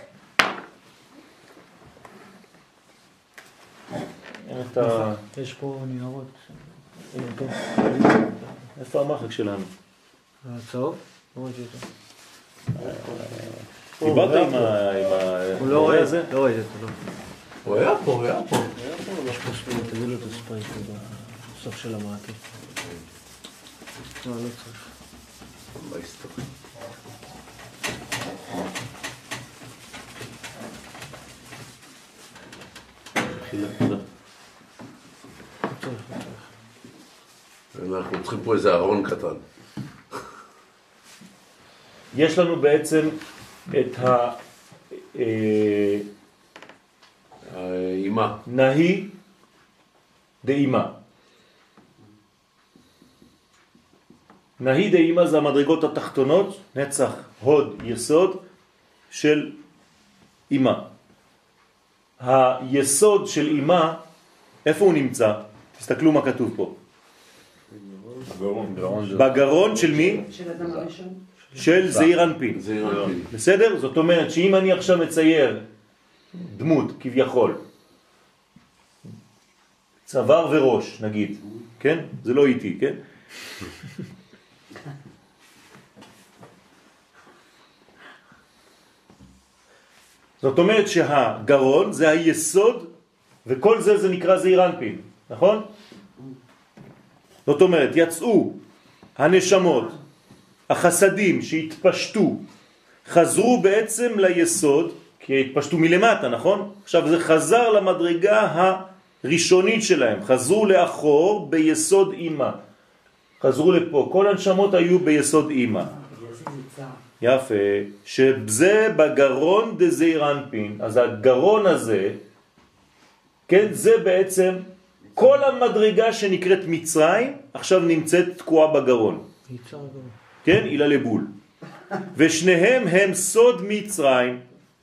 יש פה ניירות. איפה המחק שלנו? הצהוב? לא ראיתי אותו. דיברת עם ה... הוא לא רואה את זה? לא ראיתי אותו, לא. הוא היה פה, הוא היה פה. יש פה ספרים, תביא לו את הספרים פה בסוף של המעקה. לא, לא צריך. בהיסטוריה. אנחנו צריכים פה איזה ארון קטן. יש לנו בעצם את ה... האימה. נהי דאימה. נהי דאימה זה המדרגות התחתונות, נצח, הוד, יסוד של אימה. היסוד של אימה, איפה הוא נמצא? תסתכלו מה כתוב פה. בגרון של מי? של אדם הראשון. של זעיר אנפין. בסדר? זאת אומרת שאם אני עכשיו מצייר דמות כביכול, צוואר וראש נגיד, כן? זה לא איתי, כן? זאת אומרת שהגרון זה היסוד, וכל זה זה נקרא זעיר אנפין, נכון? זאת אומרת, יצאו הנשמות, החסדים שהתפשטו, חזרו בעצם ליסוד, כי התפשטו מלמטה, נכון? עכשיו זה חזר למדרגה הראשונית שלהם, חזרו לאחור ביסוד אימה. חזרו לפה, כל הנשמות היו ביסוד אימה. יפה, שזה בגרון דזעיר אנפין, אז הגרון הזה, כן, זה בעצם כל המדרגה שנקראת מצרים, עכשיו נמצאת תקועה בגרון. כן, אילה לבול. ושניהם הם סוד מצרים.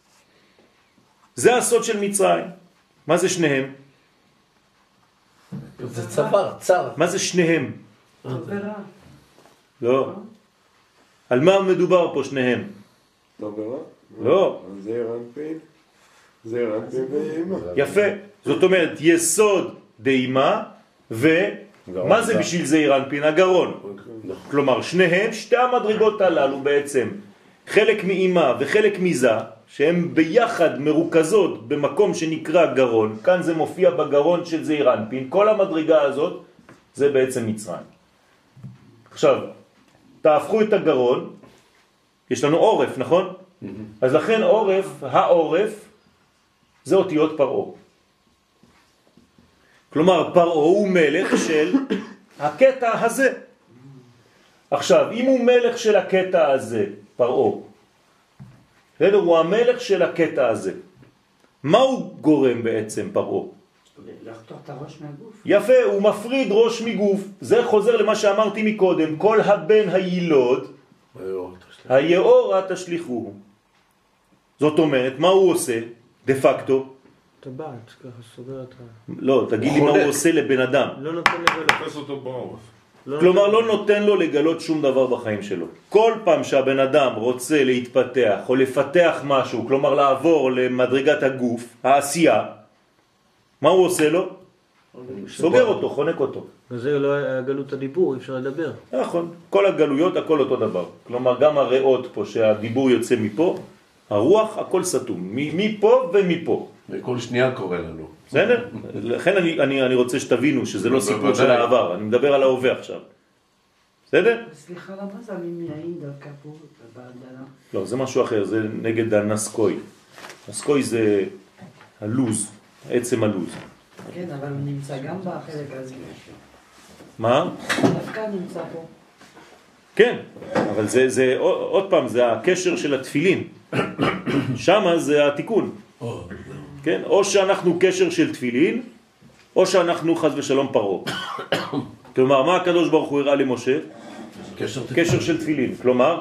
זה הסוד של מצרים. מה זה שניהם? זה צוואר, צר. מה זה שניהם? טוב לא. על מה מדובר פה שניהם? טוב ורע? לא. זעיר אנפין. זעיר אנפין ואימה. יפה. זאת אומרת, יסוד דאימה, ומה זה בשביל זעיר אנפין? הגרון. כלומר, שניהם, שתי המדרגות הללו בעצם, חלק מאימה וחלק מזה, שהן ביחד מרוכזות במקום שנקרא גרון, כאן זה מופיע בגרון של זעיר אנפין, כל המדרגה הזאת זה בעצם מצרים. עכשיו, תהפכו את הגרון, יש לנו עורף, נכון? אז לכן עורף, העורף, זה אותיות פרעו. כלומר, פרעו הוא מלך של הקטע הזה. עכשיו, אם הוא מלך של הקטע הזה, פרעו, הוא המלך של הקטע הזה. מה הוא גורם בעצם פרעו? לחתוך את הראש מהגוף. יפה, הוא מפריד ראש מגוף. זה חוזר למה שאמרתי מקודם, כל הבן הילוד, היאורה תשליחוהו. זאת אומרת, מה הוא עושה? דה פקטו? טבעת, ככה סוגר את ה... לא, תגיד לי מה הוא עושה לבן אדם. לא נותן לגלות. תופס אותו בעורף. כלומר, לא נותן לו לגלות שום דבר בחיים שלו. כל פעם שהבן אדם רוצה להתפתח או לפתח משהו, כלומר לעבור למדרגת הגוף, העשייה, מה הוא עושה לו? סוגר אותו, חונק אותו. וזה לא היה גלות הדיבור, אי אפשר לדבר. נכון, כל הגלויות הכל אותו דבר. כלומר, גם הריאות פה שהדיבור יוצא מפה, הרוח הכל סתום, מפה ומפה. וכל שנייה קורה לנו. בסדר? לכן אני, אני, אני רוצה שתבינו שזה לא סיפור של העבר, אני מדבר על ההווה עכשיו. בסדר? סליחה, למה זה הממנעים דווקא פה בהדלה? לא, זה משהו אחר, זה נגד הנסקוי. נסקוי זה הלוז, עצם הלוז. כן, אבל הוא נמצא גם בחלק הזה. מה? דווקא נמצא פה. כן, אבל זה, זה, עוד פעם, זה הקשר של התפילין. שמה זה התיקון. כן? או שאנחנו קשר של תפילין, או שאנחנו חס ושלום פרעה. כלומר, מה הקדוש ברוך הוא הראה למשה? קשר, קשר של תפילין. כלומר,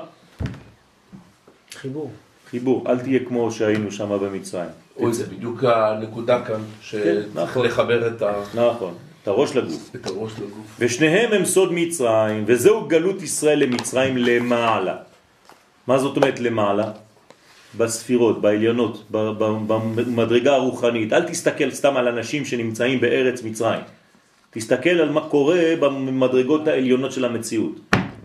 חיבור. חיבור. אל תהיה כמו שהיינו שם במצרים. אוי, זה בדיוק הנקודה כאן, שצריך נכון. לחבר את ה... נכון, את הראש לגוף. את הראש לגוף. ושניהם הם סוד מצרים, וזהו גלות ישראל למצרים למעלה. מה זאת אומרת למעלה? בספירות, בעליונות, במדרגה הרוחנית. אל תסתכל סתם על אנשים שנמצאים בארץ מצרים. תסתכל על מה קורה במדרגות העליונות של המציאות.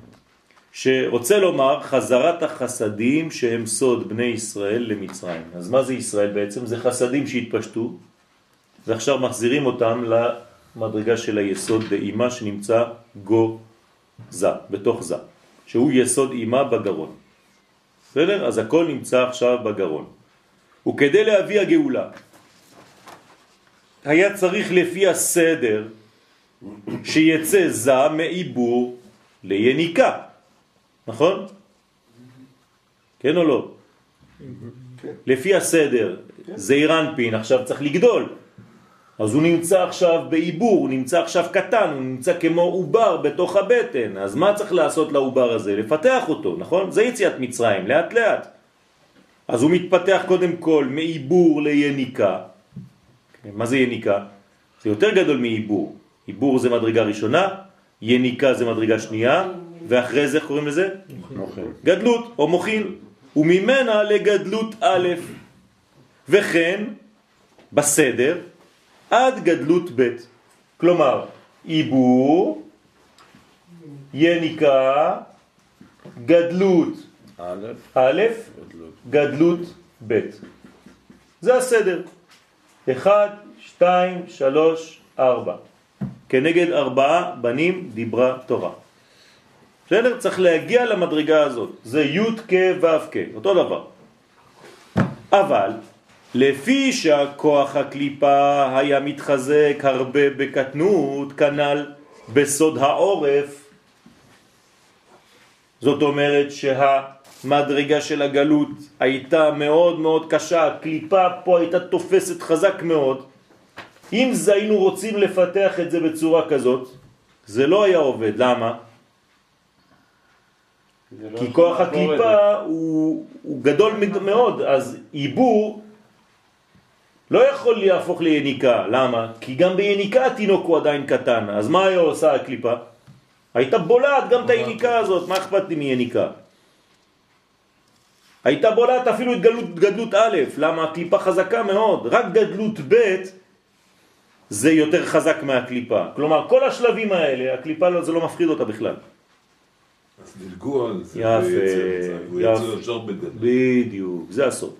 שרוצה לומר חזרת החסדים שהם סוד בני ישראל למצרים. אז מה זה ישראל בעצם? זה חסדים שהתפשטו, ועכשיו מחזירים אותם למדרגה של היסוד באימה שנמצא גו זה, בתוך זה, שהוא יסוד אימה בגרון. בסדר? אז הכל נמצא עכשיו בגרון. וכדי להביא הגאולה, היה צריך לפי הסדר שיצא זה מעיבור ליניקה, נכון? כן או לא? לפי הסדר, זעיר אנפין עכשיו צריך לגדול, אז הוא נמצא עכשיו בעיבור, הוא נמצא עכשיו קטן, הוא נמצא כמו עובר בתוך הבטן, אז מה צריך לעשות לעובר הזה? לפתח אותו, נכון? זה יציאת מצרים, לאט לאט. אז הוא מתפתח קודם כל מעיבור ליניקה. מה זה יניקה? זה יותר גדול מעיבור. עיבור זה מדרגה ראשונה, יניקה זה מדרגה שנייה, ואחרי זה קוראים לזה? מוכיל. גדלות או מוכיל. וממנה לגדלות א', וכן בסדר עד גדלות ב'. כלומר, עיבור, יניקה, גדלות א', א', גדלות ב'. זה הסדר. אחד, שתיים, שלוש, ארבע. כנגד ארבעה בנים דיברה תורה. בסדר? צריך להגיע למדרגה הזאת. זה י' כ' ו' כ', אותו דבר. אבל לפי שהכוח הקליפה היה מתחזק הרבה בקטנות, כנ"ל בסוד העורף, זאת אומרת שהמדרגה של הגלות הייתה מאוד מאוד קשה, הקליפה פה הייתה תופסת חזק מאוד. אם זה היינו רוצים לפתח את זה בצורה כזאת, זה לא היה עובד. למה? כי לא כוח הקליפה הוא, הוא גדול מאוד, אז עיבור לא יכול להפוך ליניקה. למה? כי גם ביניקה התינוק הוא עדיין קטן. אז מה היה עושה הקליפה? הייתה בולעת גם את היניקה הזאת. מה אכפת לי מיניקה? הייתה בולעת אפילו את גדלות, גדלות א'. למה? הקליפה חזקה מאוד. רק גדלות ב' זה יותר חזק מהקליפה. כלומר, כל השלבים האלה, הקליפה זה לא מפחיד אותה בכלל. אז דילגו על זה. יפה, יפה. בדיוק, זה הסוף.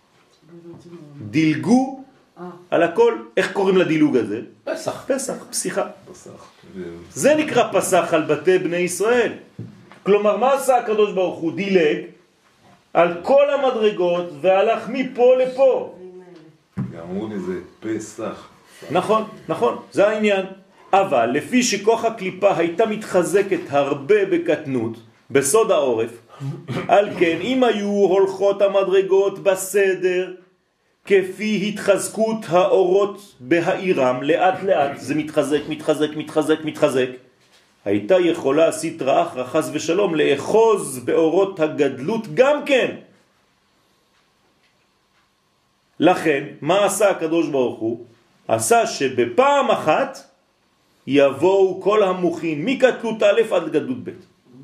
דילגו על הכל. איך קוראים לדילוג הזה? פסח. פסח, פסיחה. פסח. זה נקרא פסח על בתי בני ישראל. כלומר, מה עשה הקדוש ברוך הוא? דילג על כל המדרגות והלך מפה לפה. אמרו לי זה פסח. נכון, נכון, זה העניין. אבל לפי שכוח הקליפה הייתה מתחזקת הרבה בקטנות, בסוד העורף, על כן אם היו הולכות המדרגות בסדר, כפי התחזקות האורות בהעירם, לאט לאט זה מתחזק, מתחזק, מתחזק, מתחזק, הייתה יכולה סטרא אחרא חס ושלום לאחוז באורות הגדלות גם כן. לכן, מה עשה הקדוש ברוך הוא? עשה שבפעם אחת יבואו כל המוחים מקטנות א' עד גדלות ב'.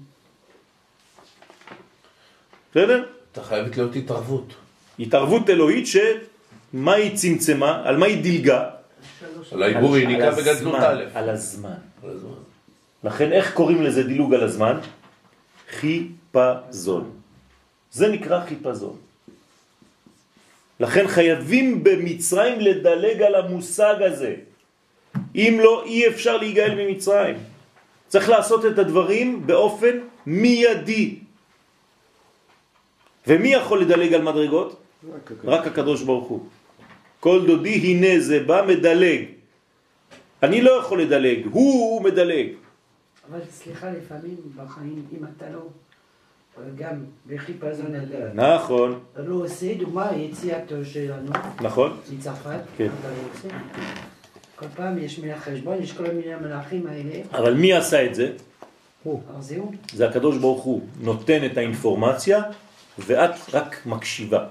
בסדר? אתה חייבת להיות התערבות. התערבות אלוהית שמה היא צמצמה? על מה היא דילגה? על העיבור יניקה בגדלות א'. על הזמן. לכן איך קוראים לזה דילוג על הזמן? חיפזון. זה נקרא חיפזון. לכן חייבים במצרים לדלג על המושג הזה. אם לא, אי אפשר להיגאל ממצרים. צריך לעשות את הדברים באופן מיידי. ומי יכול לדלג על מדרגות? רק, רק הקדוש ברוך הוא. כל דודי הנה זה בא מדלג. אני לא יכול לדלג, הוא מדלג. אבל סליחה, לפעמים בחיים, אם אתה לא, גם בחיפזון אתה נכון. לא עושה, דוגמה, יציאתו שלנו, נכון. מצרפת, כן. אתה לא עושה. כל פעם יש מלך חשבון, יש כל מיני מלאכים האלה. אבל מי עשה את זה? הוא. אז זהו. זה הקדוש ברוך הוא נותן את האינפורמציה ואת רק מקשיבה.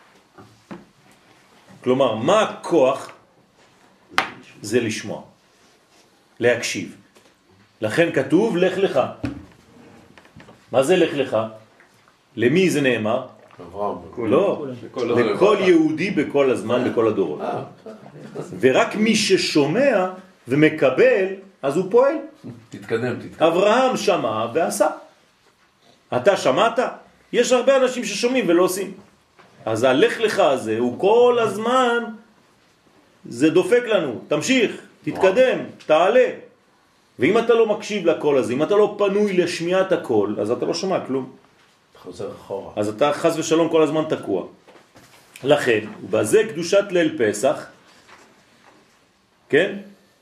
כלומר, מה הכוח? זה לשמוע, להקשיב. לכן כתוב לך לך. מה זה לך לך? למי זה נאמר? לא, לכל יהודי בכל הזמן, בכל הדורות. ורק מי ששומע ומקבל, אז הוא פועל. תתקדם, תתקדם. אברהם שמע ועשה. אתה שמעת? יש הרבה אנשים ששומעים ולא עושים. אז הלך לך הזה הוא כל הזמן, זה דופק לנו. תמשיך, תתקדם, תעלה. ואם אתה לא מקשיב לקול הזה, אם אתה לא פנוי לשמיעת הקול, אז אתה לא שומע כלום. אתה חוזר אחורה. אז אתה חס ושלום כל הזמן תקוע. לכן, ובזה קדושת ליל פסח, כן?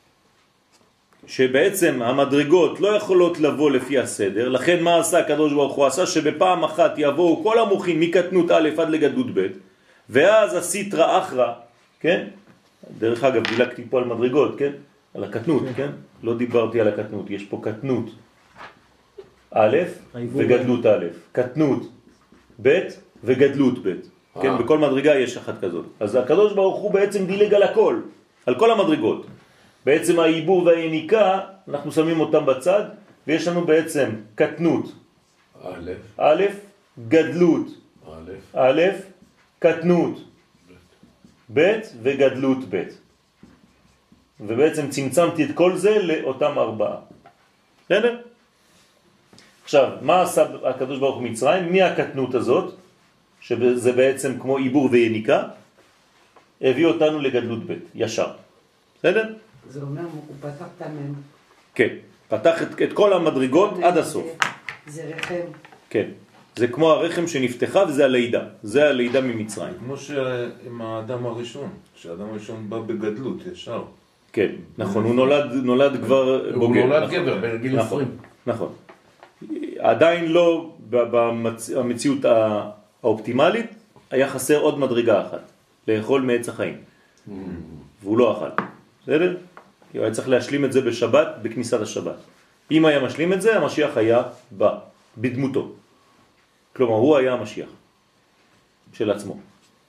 שבעצם המדרגות לא יכולות לבוא לפי הסדר, לכן מה עשה הקדוש ברוך הוא? עשה שבפעם אחת יבואו כל המוחים מקטנות א' עד לגדלות ב', ואז הסיטרא אחרא, כן? דרך אגב, דילגתי פה על מדרגות, כן? על הקטנות, כן? לא דיברתי על הקטנות, יש פה קטנות א' וגדלות א', קטנות ב' וגדלות ב', כן? בכל מדרגה יש אחת כזאת. אז הקדוש ברוך הוא בעצם דילג על הכל, על כל המדרגות. בעצם העיבור והיניקה, אנחנו שמים אותם בצד, ויש לנו בעצם קטנות א', א', גדלות א', א', קטנות ב' וגדלות ב'. ובעצם צמצמתי את כל זה לאותם ארבעה. בסדר? עכשיו, מה עשה הקדוש ברוך הוא מצרים? מי הקטנות הזאת, שזה בעצם כמו עיבור ויניקה, הביא אותנו לגדלות ב', ישר. בסדר? זה אומר, הוא פתח את המם. כן, פתח את, את כל המדרגות עד הסוף. זה, זה רחם. כן, זה כמו הרחם שנפתחה וזה הלידה, זה הלידה ממצרים. כמו שעם האדם הראשון, כשהאדם הראשון בא בגדלות ישר. כן, נכון, הוא נולד, נולד כבר בוגר. הוא נולד נכון, גבר בגיל נכון, עשרים. נכון. עדיין לא במציאות האופטימלית, היה חסר עוד מדרגה אחת, לאכול מעץ החיים. והוא לא אכל. בסדר? הוא היה צריך להשלים את זה בשבת, בכניסת השבת. אם היה משלים את זה, המשיח היה בא, בדמותו. כלומר, הוא היה המשיח של עצמו.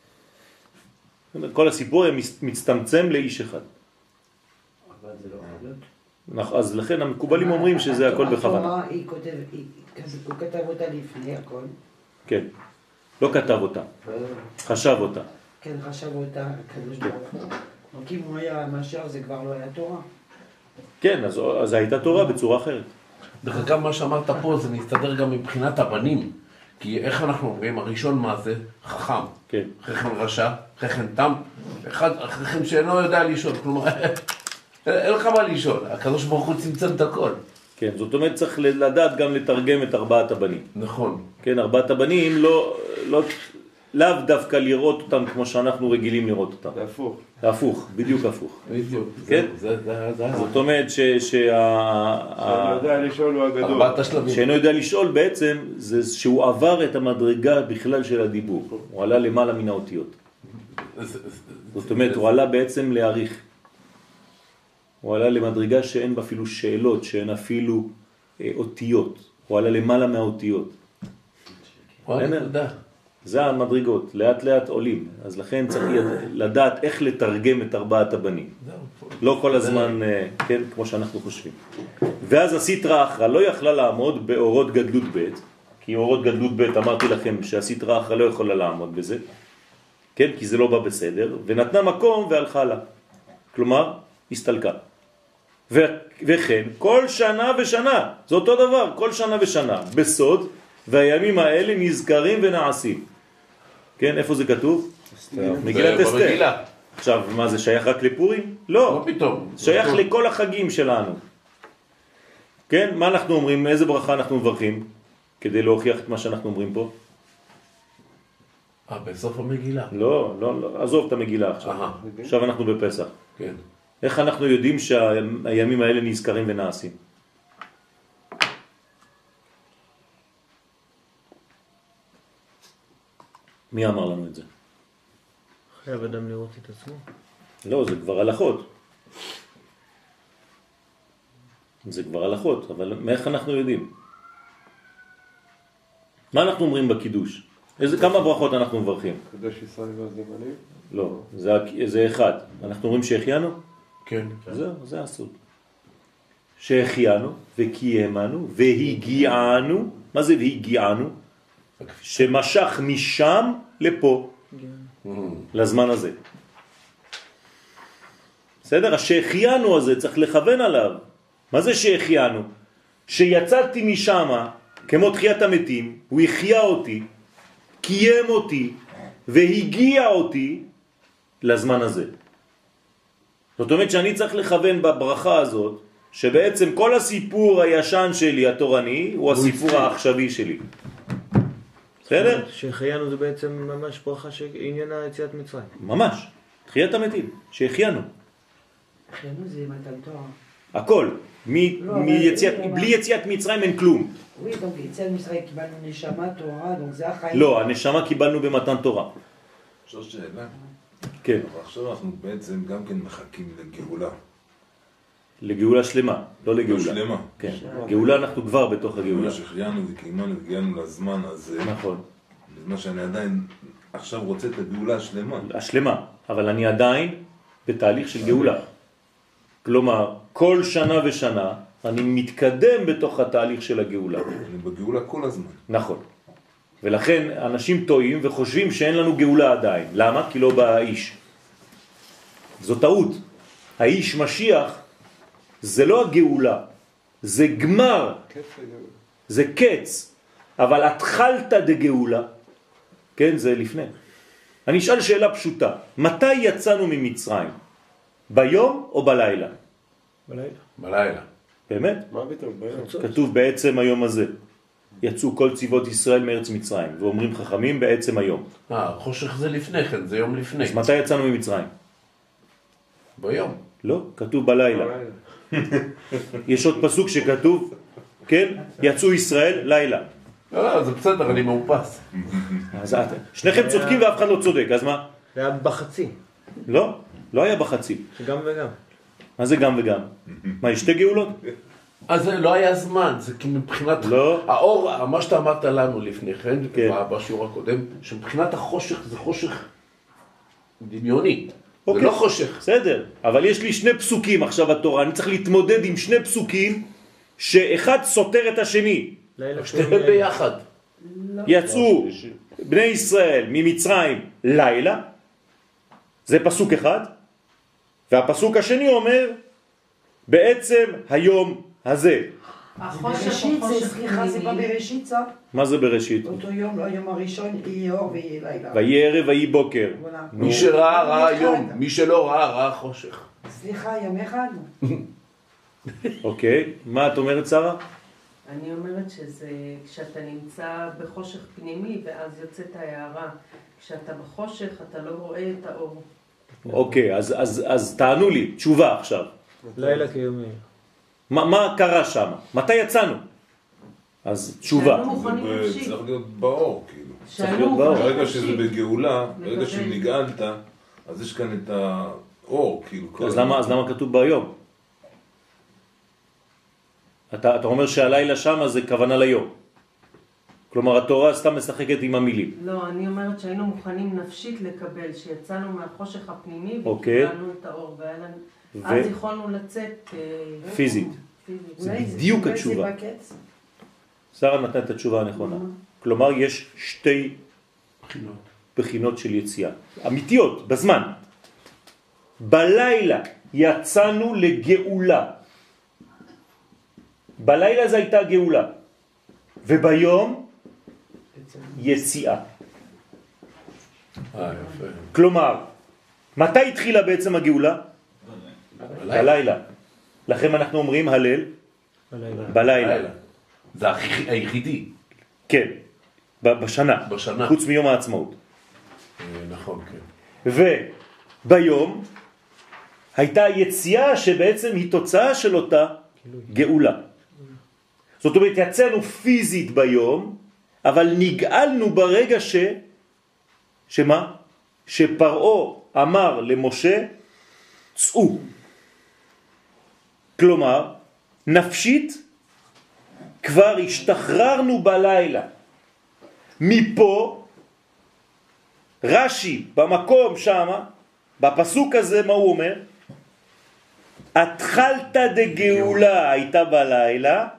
כל הסיפור היה מצטמצם לאיש אחד. אבל זה לא חלות. אז לכן המקובלים אומרים שזה הכל בכוונה. התורה, היא כותב, הוא כתב אותה לפני הכל. כן. לא כתב אותה, חשב אותה. כן, חשב אותה הקדוש ברוך הוא. רק אם הוא היה המשיח זה כבר לא היה תורה. כן, אז, אז הייתה תורה בצורה אחרת. דרך אגב, מה שאמרת פה זה מסתדר גם מבחינת הבנים. כי איך אנחנו אומרים, הראשון מה זה? חכם. כן. חכם רשע, חכם תם, אחד, חכם שאינו יודע לישון. כלומר, אין לך מה לישון. הקדוש ברוך הוא צמצם את הכל. כן, זאת אומרת צריך לדעת גם לתרגם את ארבעת הבנים. נכון. כן, ארבעת הבנים לא, לא, לאו דווקא לראות אותם כמו שאנחנו רגילים לראות אותם. זה הפוך. זה הפוך, בדיוק הפוך. בדיוק. כן? זה, זה, זה, זאת אומרת ש... שה... שאני יודע לשאול הוא הגדול. ארבעת השלבים. שאינו יודע לשאול בעצם, זה שהוא עבר את המדרגה בכלל של הדיבור. הוא עלה למעלה מן האותיות. זאת אומרת, הוא עלה בעצם להעריך. הוא עלה למדרגה שאין בה אפילו שאלות, שאין אפילו אה, אותיות. הוא עלה למעלה מהאותיות. תודה. זה המדרגות, לאט לאט עולים. אז לכן צריך לדעת איך לתרגם את ארבעת הבנים. לא כל הזמן, כן, כמו שאנחנו חושבים. ואז הסיטרא אחרא לא יכלה לעמוד באורות גדלות ב', כי אורות גדלות ב' אמרתי לכם שהסיטרא אחרא לא יכולה לעמוד בזה, כן, כי זה לא בא בסדר, ונתנה מקום והלכה לה. כלומר, הסתלקה. וכן, כל שנה ושנה, זה אותו דבר, כל שנה ושנה, בסוד, והימים האלה נזכרים ונעשים. כן, איפה זה כתוב? מגילת אסתר. עכשיו, מה זה שייך רק לפורים? לא. לא פתאום. שייך לכל החגים שלנו. כן, מה אנחנו אומרים? איזה ברכה אנחנו מברכים? כדי להוכיח את מה שאנחנו אומרים פה? אה, בסוף המגילה. לא, לא, לא, עזוב את המגילה עכשיו. עכשיו אנחנו בפסח. כן. איך אנחנו יודעים שהימים האלה נזכרים ונעשים? מי אמר לנו את זה? חייב אדם לראות את עצמו. לא, זה כבר הלכות. זה כבר הלכות, אבל מאיך אנחנו יודעים? מה אנחנו אומרים בקידוש? איזה, כמה ברכות אנחנו מברכים? קדוש ישראל והזמנים? לא, זה, זה אחד. אנחנו אומרים שהחיינו? כן. זהו, זה הסוד. שהחיינו וקיימנו והגיענו. מה זה והגיענו? שמשך משם לפה, לזמן הזה. בסדר? השהחיינו הזה צריך לכוון עליו. מה זה שהחיינו? שיצאתי משם, כמו תחיית המתים, הוא החיה אותי, קיים אותי, והגיע אותי לזמן הזה. זאת אומרת שאני צריך לכוון בברכה הזאת, שבעצם כל הסיפור הישן שלי, התורני, הוא הסיפור העכשווי שלי. בסדר? שהחיינו זה בעצם ממש ברכה שעניינה יציאת מצרים. ממש. תחיית המתים, שהחיינו. חיינו זה מתן תורה. הכל. מ- לא, מיציאת, אבל- בלי יציאת מצרים אין כלום. Oui, donc יציאת מצרים קיבלנו נשמה, תורה, donc זה החיים. לא, הנשמה קיבלנו במתן תורה. אפשר שאלה? כן. אבל עכשיו אנחנו בעצם גם כן מחכים לגאולה. לגאולה שלמה, לא לא לגאולה. שלמה. כן. גאולה אנחנו כבר בתוך הגאולה. שהחיינו וקיימנו והגיענו לזמן הזה. נכון. בזמן שאני עדיין עכשיו רוצה את הגאולה השלמה. השלמה, אבל אני עדיין בתהליך של גאולה. כלומר, כל שנה ושנה אני מתקדם בתוך התהליך של הגאולה. אני בגאולה כל הזמן. נכון. ולכן אנשים טועים וחושבים שאין לנו גאולה עדיין. למה? כי לא בא האיש. זו טעות. האיש משיח זה לא הגאולה, זה גמר, זה קץ. אבל התחלת דגאולה, כן, זה לפני. אני אשאל שאלה פשוטה. מתי יצאנו ממצרים? ביום או בלילה? בלילה. בלילה. באמת? מה פתאום? ביום. כתוב בעצם היום הזה. יצאו כל צבאות ישראל מארץ מצרים, ואומרים חכמים בעצם היום. אה, חושך זה לפני כן, זה יום לפני. אז מתי יצאנו ממצרים? ביום. לא, כתוב בלילה. יש עוד פסוק שכתוב, כן? יצאו ישראל לילה. לא, לא, זה בסדר, אני מאופס. אז את, שניכם צודקים ואף אחד לא צודק, אז מה? זה היה בחצי. לא, לא היה בחצי. גם וגם. מה זה גם וגם? מה, יש שתי גאולות? אז זה לא היה זמן, זה כי מבחינת... לא. האור, מה שאתה אמרת לנו לפני כן, כן. בשיעור הקודם, שמבחינת החושך זה חושך דמיוני. זה אוקיי. לא חושך. בסדר, אבל יש לי שני פסוקים עכשיו בתורה, אני צריך להתמודד עם שני פסוקים שאחד סותר את השני. לילה שתיהם ביחד. יצאו בני ישראל ממצרים לילה, זה פסוק אחד, והפסוק השני אומר בעצם היום הזה. החושך בראשית הוא זה, חושך סליחה, זה פנימי. בבראשית זה? מה זה בראשית? אותו יום, לא היום הראשון, יהיה אור ויהיה לילה. ויהי ערב ויהי בוקר. וואלה. מי שראה ראה יום, מי שלא ראה ראה חושך. סליחה, יום אחד? אוקיי, מה את אומרת שרה? אני אומרת שזה כשאתה נמצא בחושך פנימי ואז יוצאת ההערה. כשאתה בחושך אתה לא רואה את האור. אוקיי, אז, אז, אז תענו לי, תשובה עכשיו. לילה כיומי. מה, מה קרה שם? מתי יצאנו? אז תשובה. שהיינו מוכנים זה נפשית. צריך להיות באור, כאילו. להיות שהיינו באור. מוכנים ברגע שזה נפשית. בגאולה, ברגע לקבל. שנגאלת, אז יש כאן את האור, כאילו. כל אז הזמן. למה, אז למה כתוב ביום? אתה, אתה אומר שהלילה שם זה כוונה ליום. כלומר, התורה סתם משחקת עם המילים. לא, אני אומרת שהיינו מוכנים נפשית לקבל, שיצאנו מהחושך הפנימי אוקיי. וקיבלנו את האור, והיה לנו... ו- אז יכולנו לצאת אה, פיזית. פיזית. זה אולי בדיוק אולי התשובה. זה בקץ? שרה נתנה את התשובה הנכונה. כלומר, יש שתי בחינות. בחינות של יציאה. אמיתיות, בזמן. בלילה יצאנו לגאולה. בלילה זה הייתה גאולה. וביום יציאה. אה, יפה. כלומר, מתי התחילה בעצם הגאולה? בלילה. לכן אנחנו אומרים הלל בלילה. בלילה. לילה. זה הכי- היחידי. כן, ב- בשנה. בשנה. חוץ מיום העצמאות. אה, נכון, כן. וביום הייתה יציאה שבעצם היא תוצאה של אותה גאולה. זאת אומרת, יצאנו פיזית ביום, אבל נגאלנו ברגע ש... שמה? שפרעה אמר למשה, צאו. כלומר, נפשית כבר השתחררנו בלילה. מפה, רש"י במקום שמה, בפסוק הזה מה הוא אומר? התחלת דגאולה הייתה בלילה,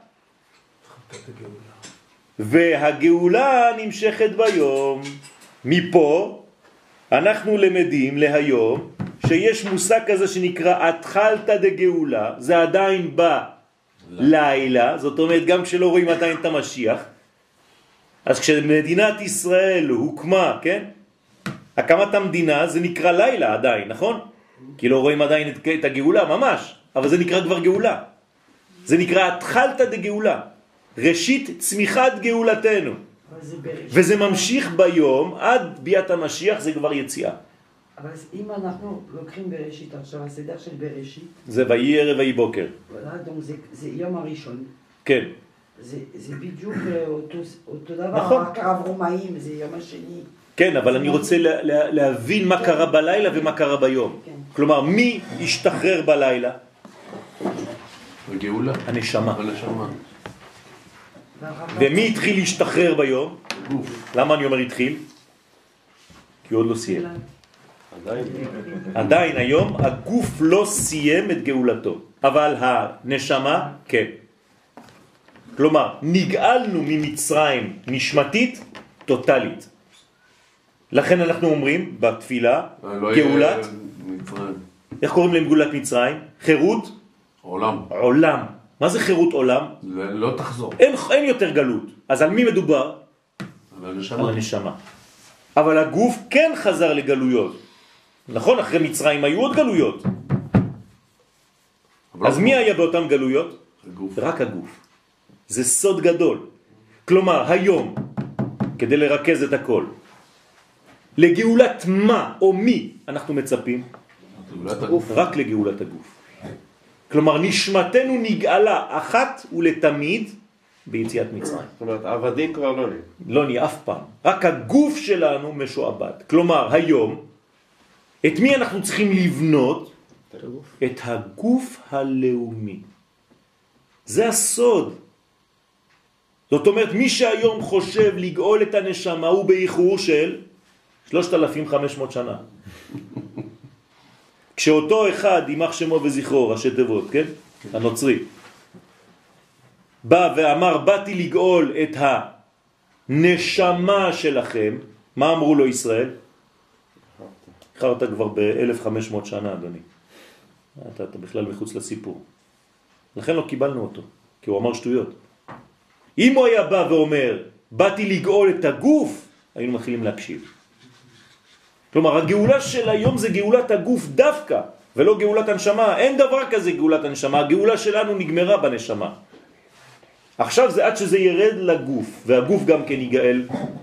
והגאולה נמשכת ביום. מפה אנחנו למדים להיום שיש מושג כזה שנקרא התחלת דגאולה, זה עדיין בלילה, זאת אומרת גם כשלא רואים עדיין את המשיח. אז כשמדינת ישראל הוקמה, כן? הקמת המדינה זה נקרא לילה עדיין, נכון? כי לא רואים עדיין את, את הגאולה, ממש, אבל זה נקרא כבר גאולה. זה נקרא התחלת דגאולה, ראשית צמיחת גאולתנו. אבל זה בראשית. וזה ממשיך ביום, עד ביאת המשיח זה כבר יציאה. אבל אם אנחנו לוקחים בראשית, עכשיו הסדר של בראשית, זה ויהי ערב ויהי בוקר. voilà, donc זה, זה יום הראשון. כן. זה, זה בדיוק אותו, אותו דבר, נכון. רק הרב רומאים, זה יום השני. כן, אבל אני רוצה לה, לה, להבין מה קרה בלילה ומה קרה ביום. כן. כלומר, מי השתחרר בלילה? הגאולה. הנשמה. הנשמה. ומי התחיל להשתחרר ביום? גוף. למה אני אומר התחיל? כי הוא עוד לא סיים. עדיין. עדיין היום הגוף לא סיים את גאולתו, אבל הנשמה כן. כלומר, נגאלנו ממצרים נשמתית טוטלית. לכן אנחנו אומרים בתפילה, גאולת, איך קוראים להם גאולת מצרים? חירות? עולם. עולם. מה זה חירות עולם? לא תחזור. אין, אין יותר גלות. אז על מי מדובר? על הנשמה. על הנשמה. אבל הגוף כן חזר לגלויות. נכון, אחרי מצרים היו עוד גלויות. אז מי היה באותן גלויות? הגוף. רק הגוף. זה סוד גדול. כלומר, היום, כדי לרכז את הכל, לגאולת מה או מי אנחנו מצפים? גאולת הגוף. רק לגאולת הגוף. כלומר, נשמתנו נגאלה אחת ולתמיד ביציאת מצרים. זאת אומרת, עבדים כבר לא נהיה. לא נהיה אף פעם. רק הגוף שלנו משועבד. כלומר, היום, את מי אנחנו צריכים לבנות? את הגוף הלאומי. זה הסוד. זאת אומרת, מי שהיום חושב לגאול את הנשמה הוא באיחור של שלושת אלפים וחמש מאות שנה. כשאותו אחד, יימח שמו וזכרו, ראשי תיבות, כן? הנוצרי, בא ואמר, באתי לגאול את הנשמה שלכם, מה אמרו לו ישראל? איחרת כבר ב-אלף וחמש מאות שנה, אדוני. אתה, אתה בכלל מחוץ לסיפור. לכן לא קיבלנו אותו, כי הוא אמר שטויות. אם הוא היה בא ואומר, באתי לגאול את הגוף, היינו מתחילים להקשיב. כלומר, הגאולה של היום זה גאולת הגוף דווקא, ולא גאולת הנשמה. אין דבר כזה גאולת הנשמה. הגאולה שלנו נגמרה בנשמה. עכשיו זה עד שזה ירד לגוף, והגוף גם כן יגאל,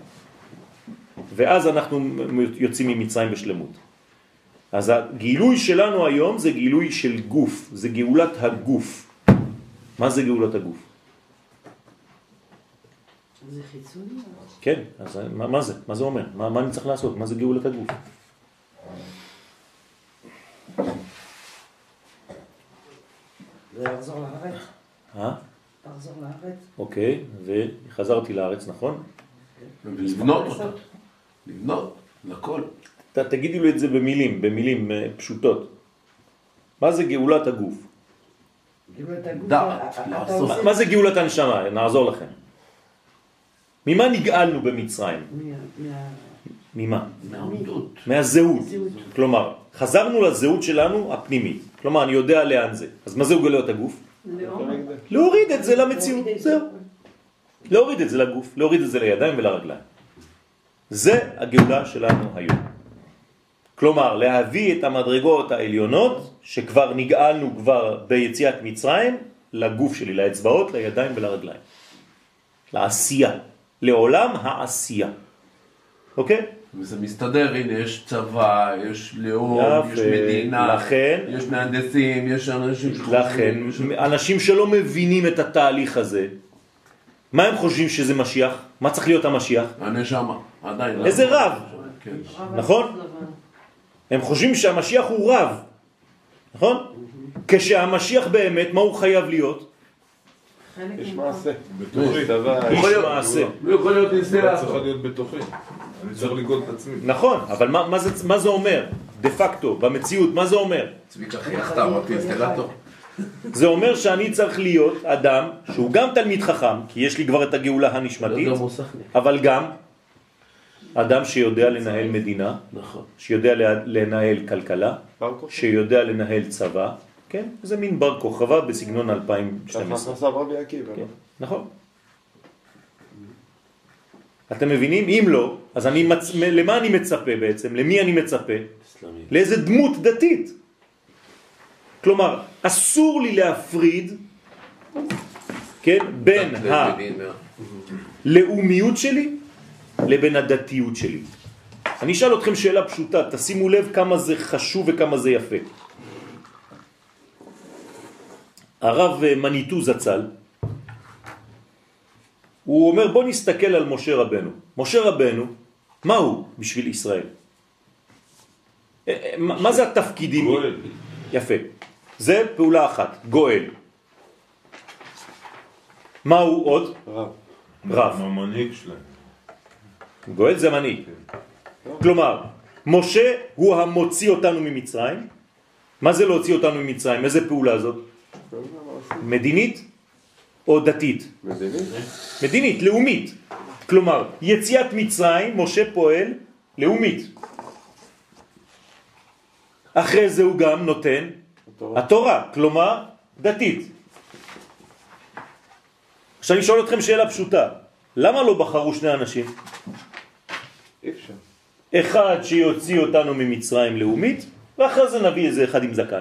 ואז אנחנו יוצאים ממצרים בשלמות. אז הגילוי שלנו היום זה גילוי של גוף, זה גאולת הגוף. מה זה גאולת הגוף? זה חיצוני? כן, אז מה, מה זה? מה זה אומר? מה, מה אני צריך לעשות? מה זה גאולת הגוף? זה לחזור לארץ? אה? לחזור לארץ? אוקיי, וחזרתי לארץ, נכון? לבנות אותה. לבנות, לכל. ת, תגידי לו את זה במילים, במילים פשוטות. מה זה גאולת הגוף? גאולת הגוף, דעת, אתה לעשות. עושה- מה זה גאולת הנשמה? נעזור לכם. ממה נגאלנו במצרים? מה- מה- ממה? מהעמדות. מהזהות. זהות. כלומר, חזרנו לזהות שלנו הפנימית. כלומר, אני יודע לאן זה. אז מה זה גאולת הגוף? לאום. להוריד את זה למציאות. זהו. להוריד את זה לגוף, להוריד את זה לידיים ולרגליים. זה הגאולה שלנו היום. כלומר, להביא את המדרגות העליונות שכבר נגאלנו כבר ביציאת מצרים לגוף שלי, לאצבעות, לידיים ולרגליים. לעשייה. לעולם העשייה. אוקיי? וזה מסתדר, הנה, יש צבא, יש לאום, יפה. יש מדינה, לכן- יש מהנדסים, יש אנשים לכן, יש- אנשים שלא מבינים את התהליך הזה, מה הם חושבים שזה משיח? מה צריך להיות המשיח? הנשמה, עדיין. איזה רב? כן. נכון? הם חושבים שהמשיח הוא רב, נכון? כשהמשיח באמת, מה הוא חייב להיות? חלק יש ממך. מעשה. בתוכי. יש דבר. איש יכול להיות- מעשה. הוא יכול להיות זה ניסיון. צריכה להיות בתוכי. אני צריך לגאול את עצמי. נכון, אבל מה, מה, זה, מה זה אומר? דה פקטו, במציאות, מה זה אומר? צביקה חייכת, אמרתי, אינסטלטור. זה אומר שאני צריך להיות אדם שהוא גם תלמיד חכם, כי יש לי כבר את הגאולה הנשמתית, גם מוסכניק. אבל גם אדם שיודע לנהל מדינה, נכון. שיודע לנהל כלכלה, בר כוכבא. שיודע לנהל צבא, כן? זה מין בר כוכבא בסגנון אלפיים ושתים ככה עשרה. עשה רבי עקיבא. כן, נכון. אתם מבינים? אם לא, אז אני מצ... למה אני מצפה בעצם? למי אני מצפה? אסלאמי. לאיזה דמות דתית. כלומר, אסור לי להפריד, כן, בין הלאומיות שלי לבין הדתיות שלי. אני אשאל אתכם שאלה פשוטה, תשימו לב כמה זה חשוב וכמה זה יפה. הרב מניטו זצ"ל, הוא אומר בוא נסתכל על משה רבנו. משה רבנו, מה הוא בשביל ישראל? מה זה התפקידים? גואל. יפה. זה פעולה אחת, גואל. מה הוא עוד? רב. רב. המנהיג שלהם. גואל זה מנהיג. כלומר, משה הוא המוציא אותנו ממצרים. מה זה להוציא אותנו ממצרים? איזה פעולה זאת? מדינית או דתית? מדינית. מדינית, לאומית. כלומר, יציאת מצרים, משה פועל לאומית. אחרי זה הוא גם נותן התורה. התורה, כלומר דתית. עכשיו אני שואל אתכם שאלה פשוטה, למה לא בחרו שני אנשים? אי אפשר. אחד שיוציא אותנו ממצרים לאומית, ואחרי זה נביא איזה אחד עם זקן.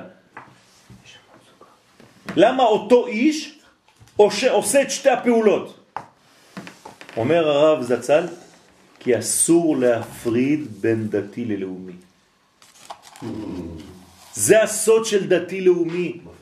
למה אותו איש עושה את שתי הפעולות? אומר הרב זצ"ל, כי אסור להפריד בין דתי ללאומי. זה הסוד של דתי לאומי.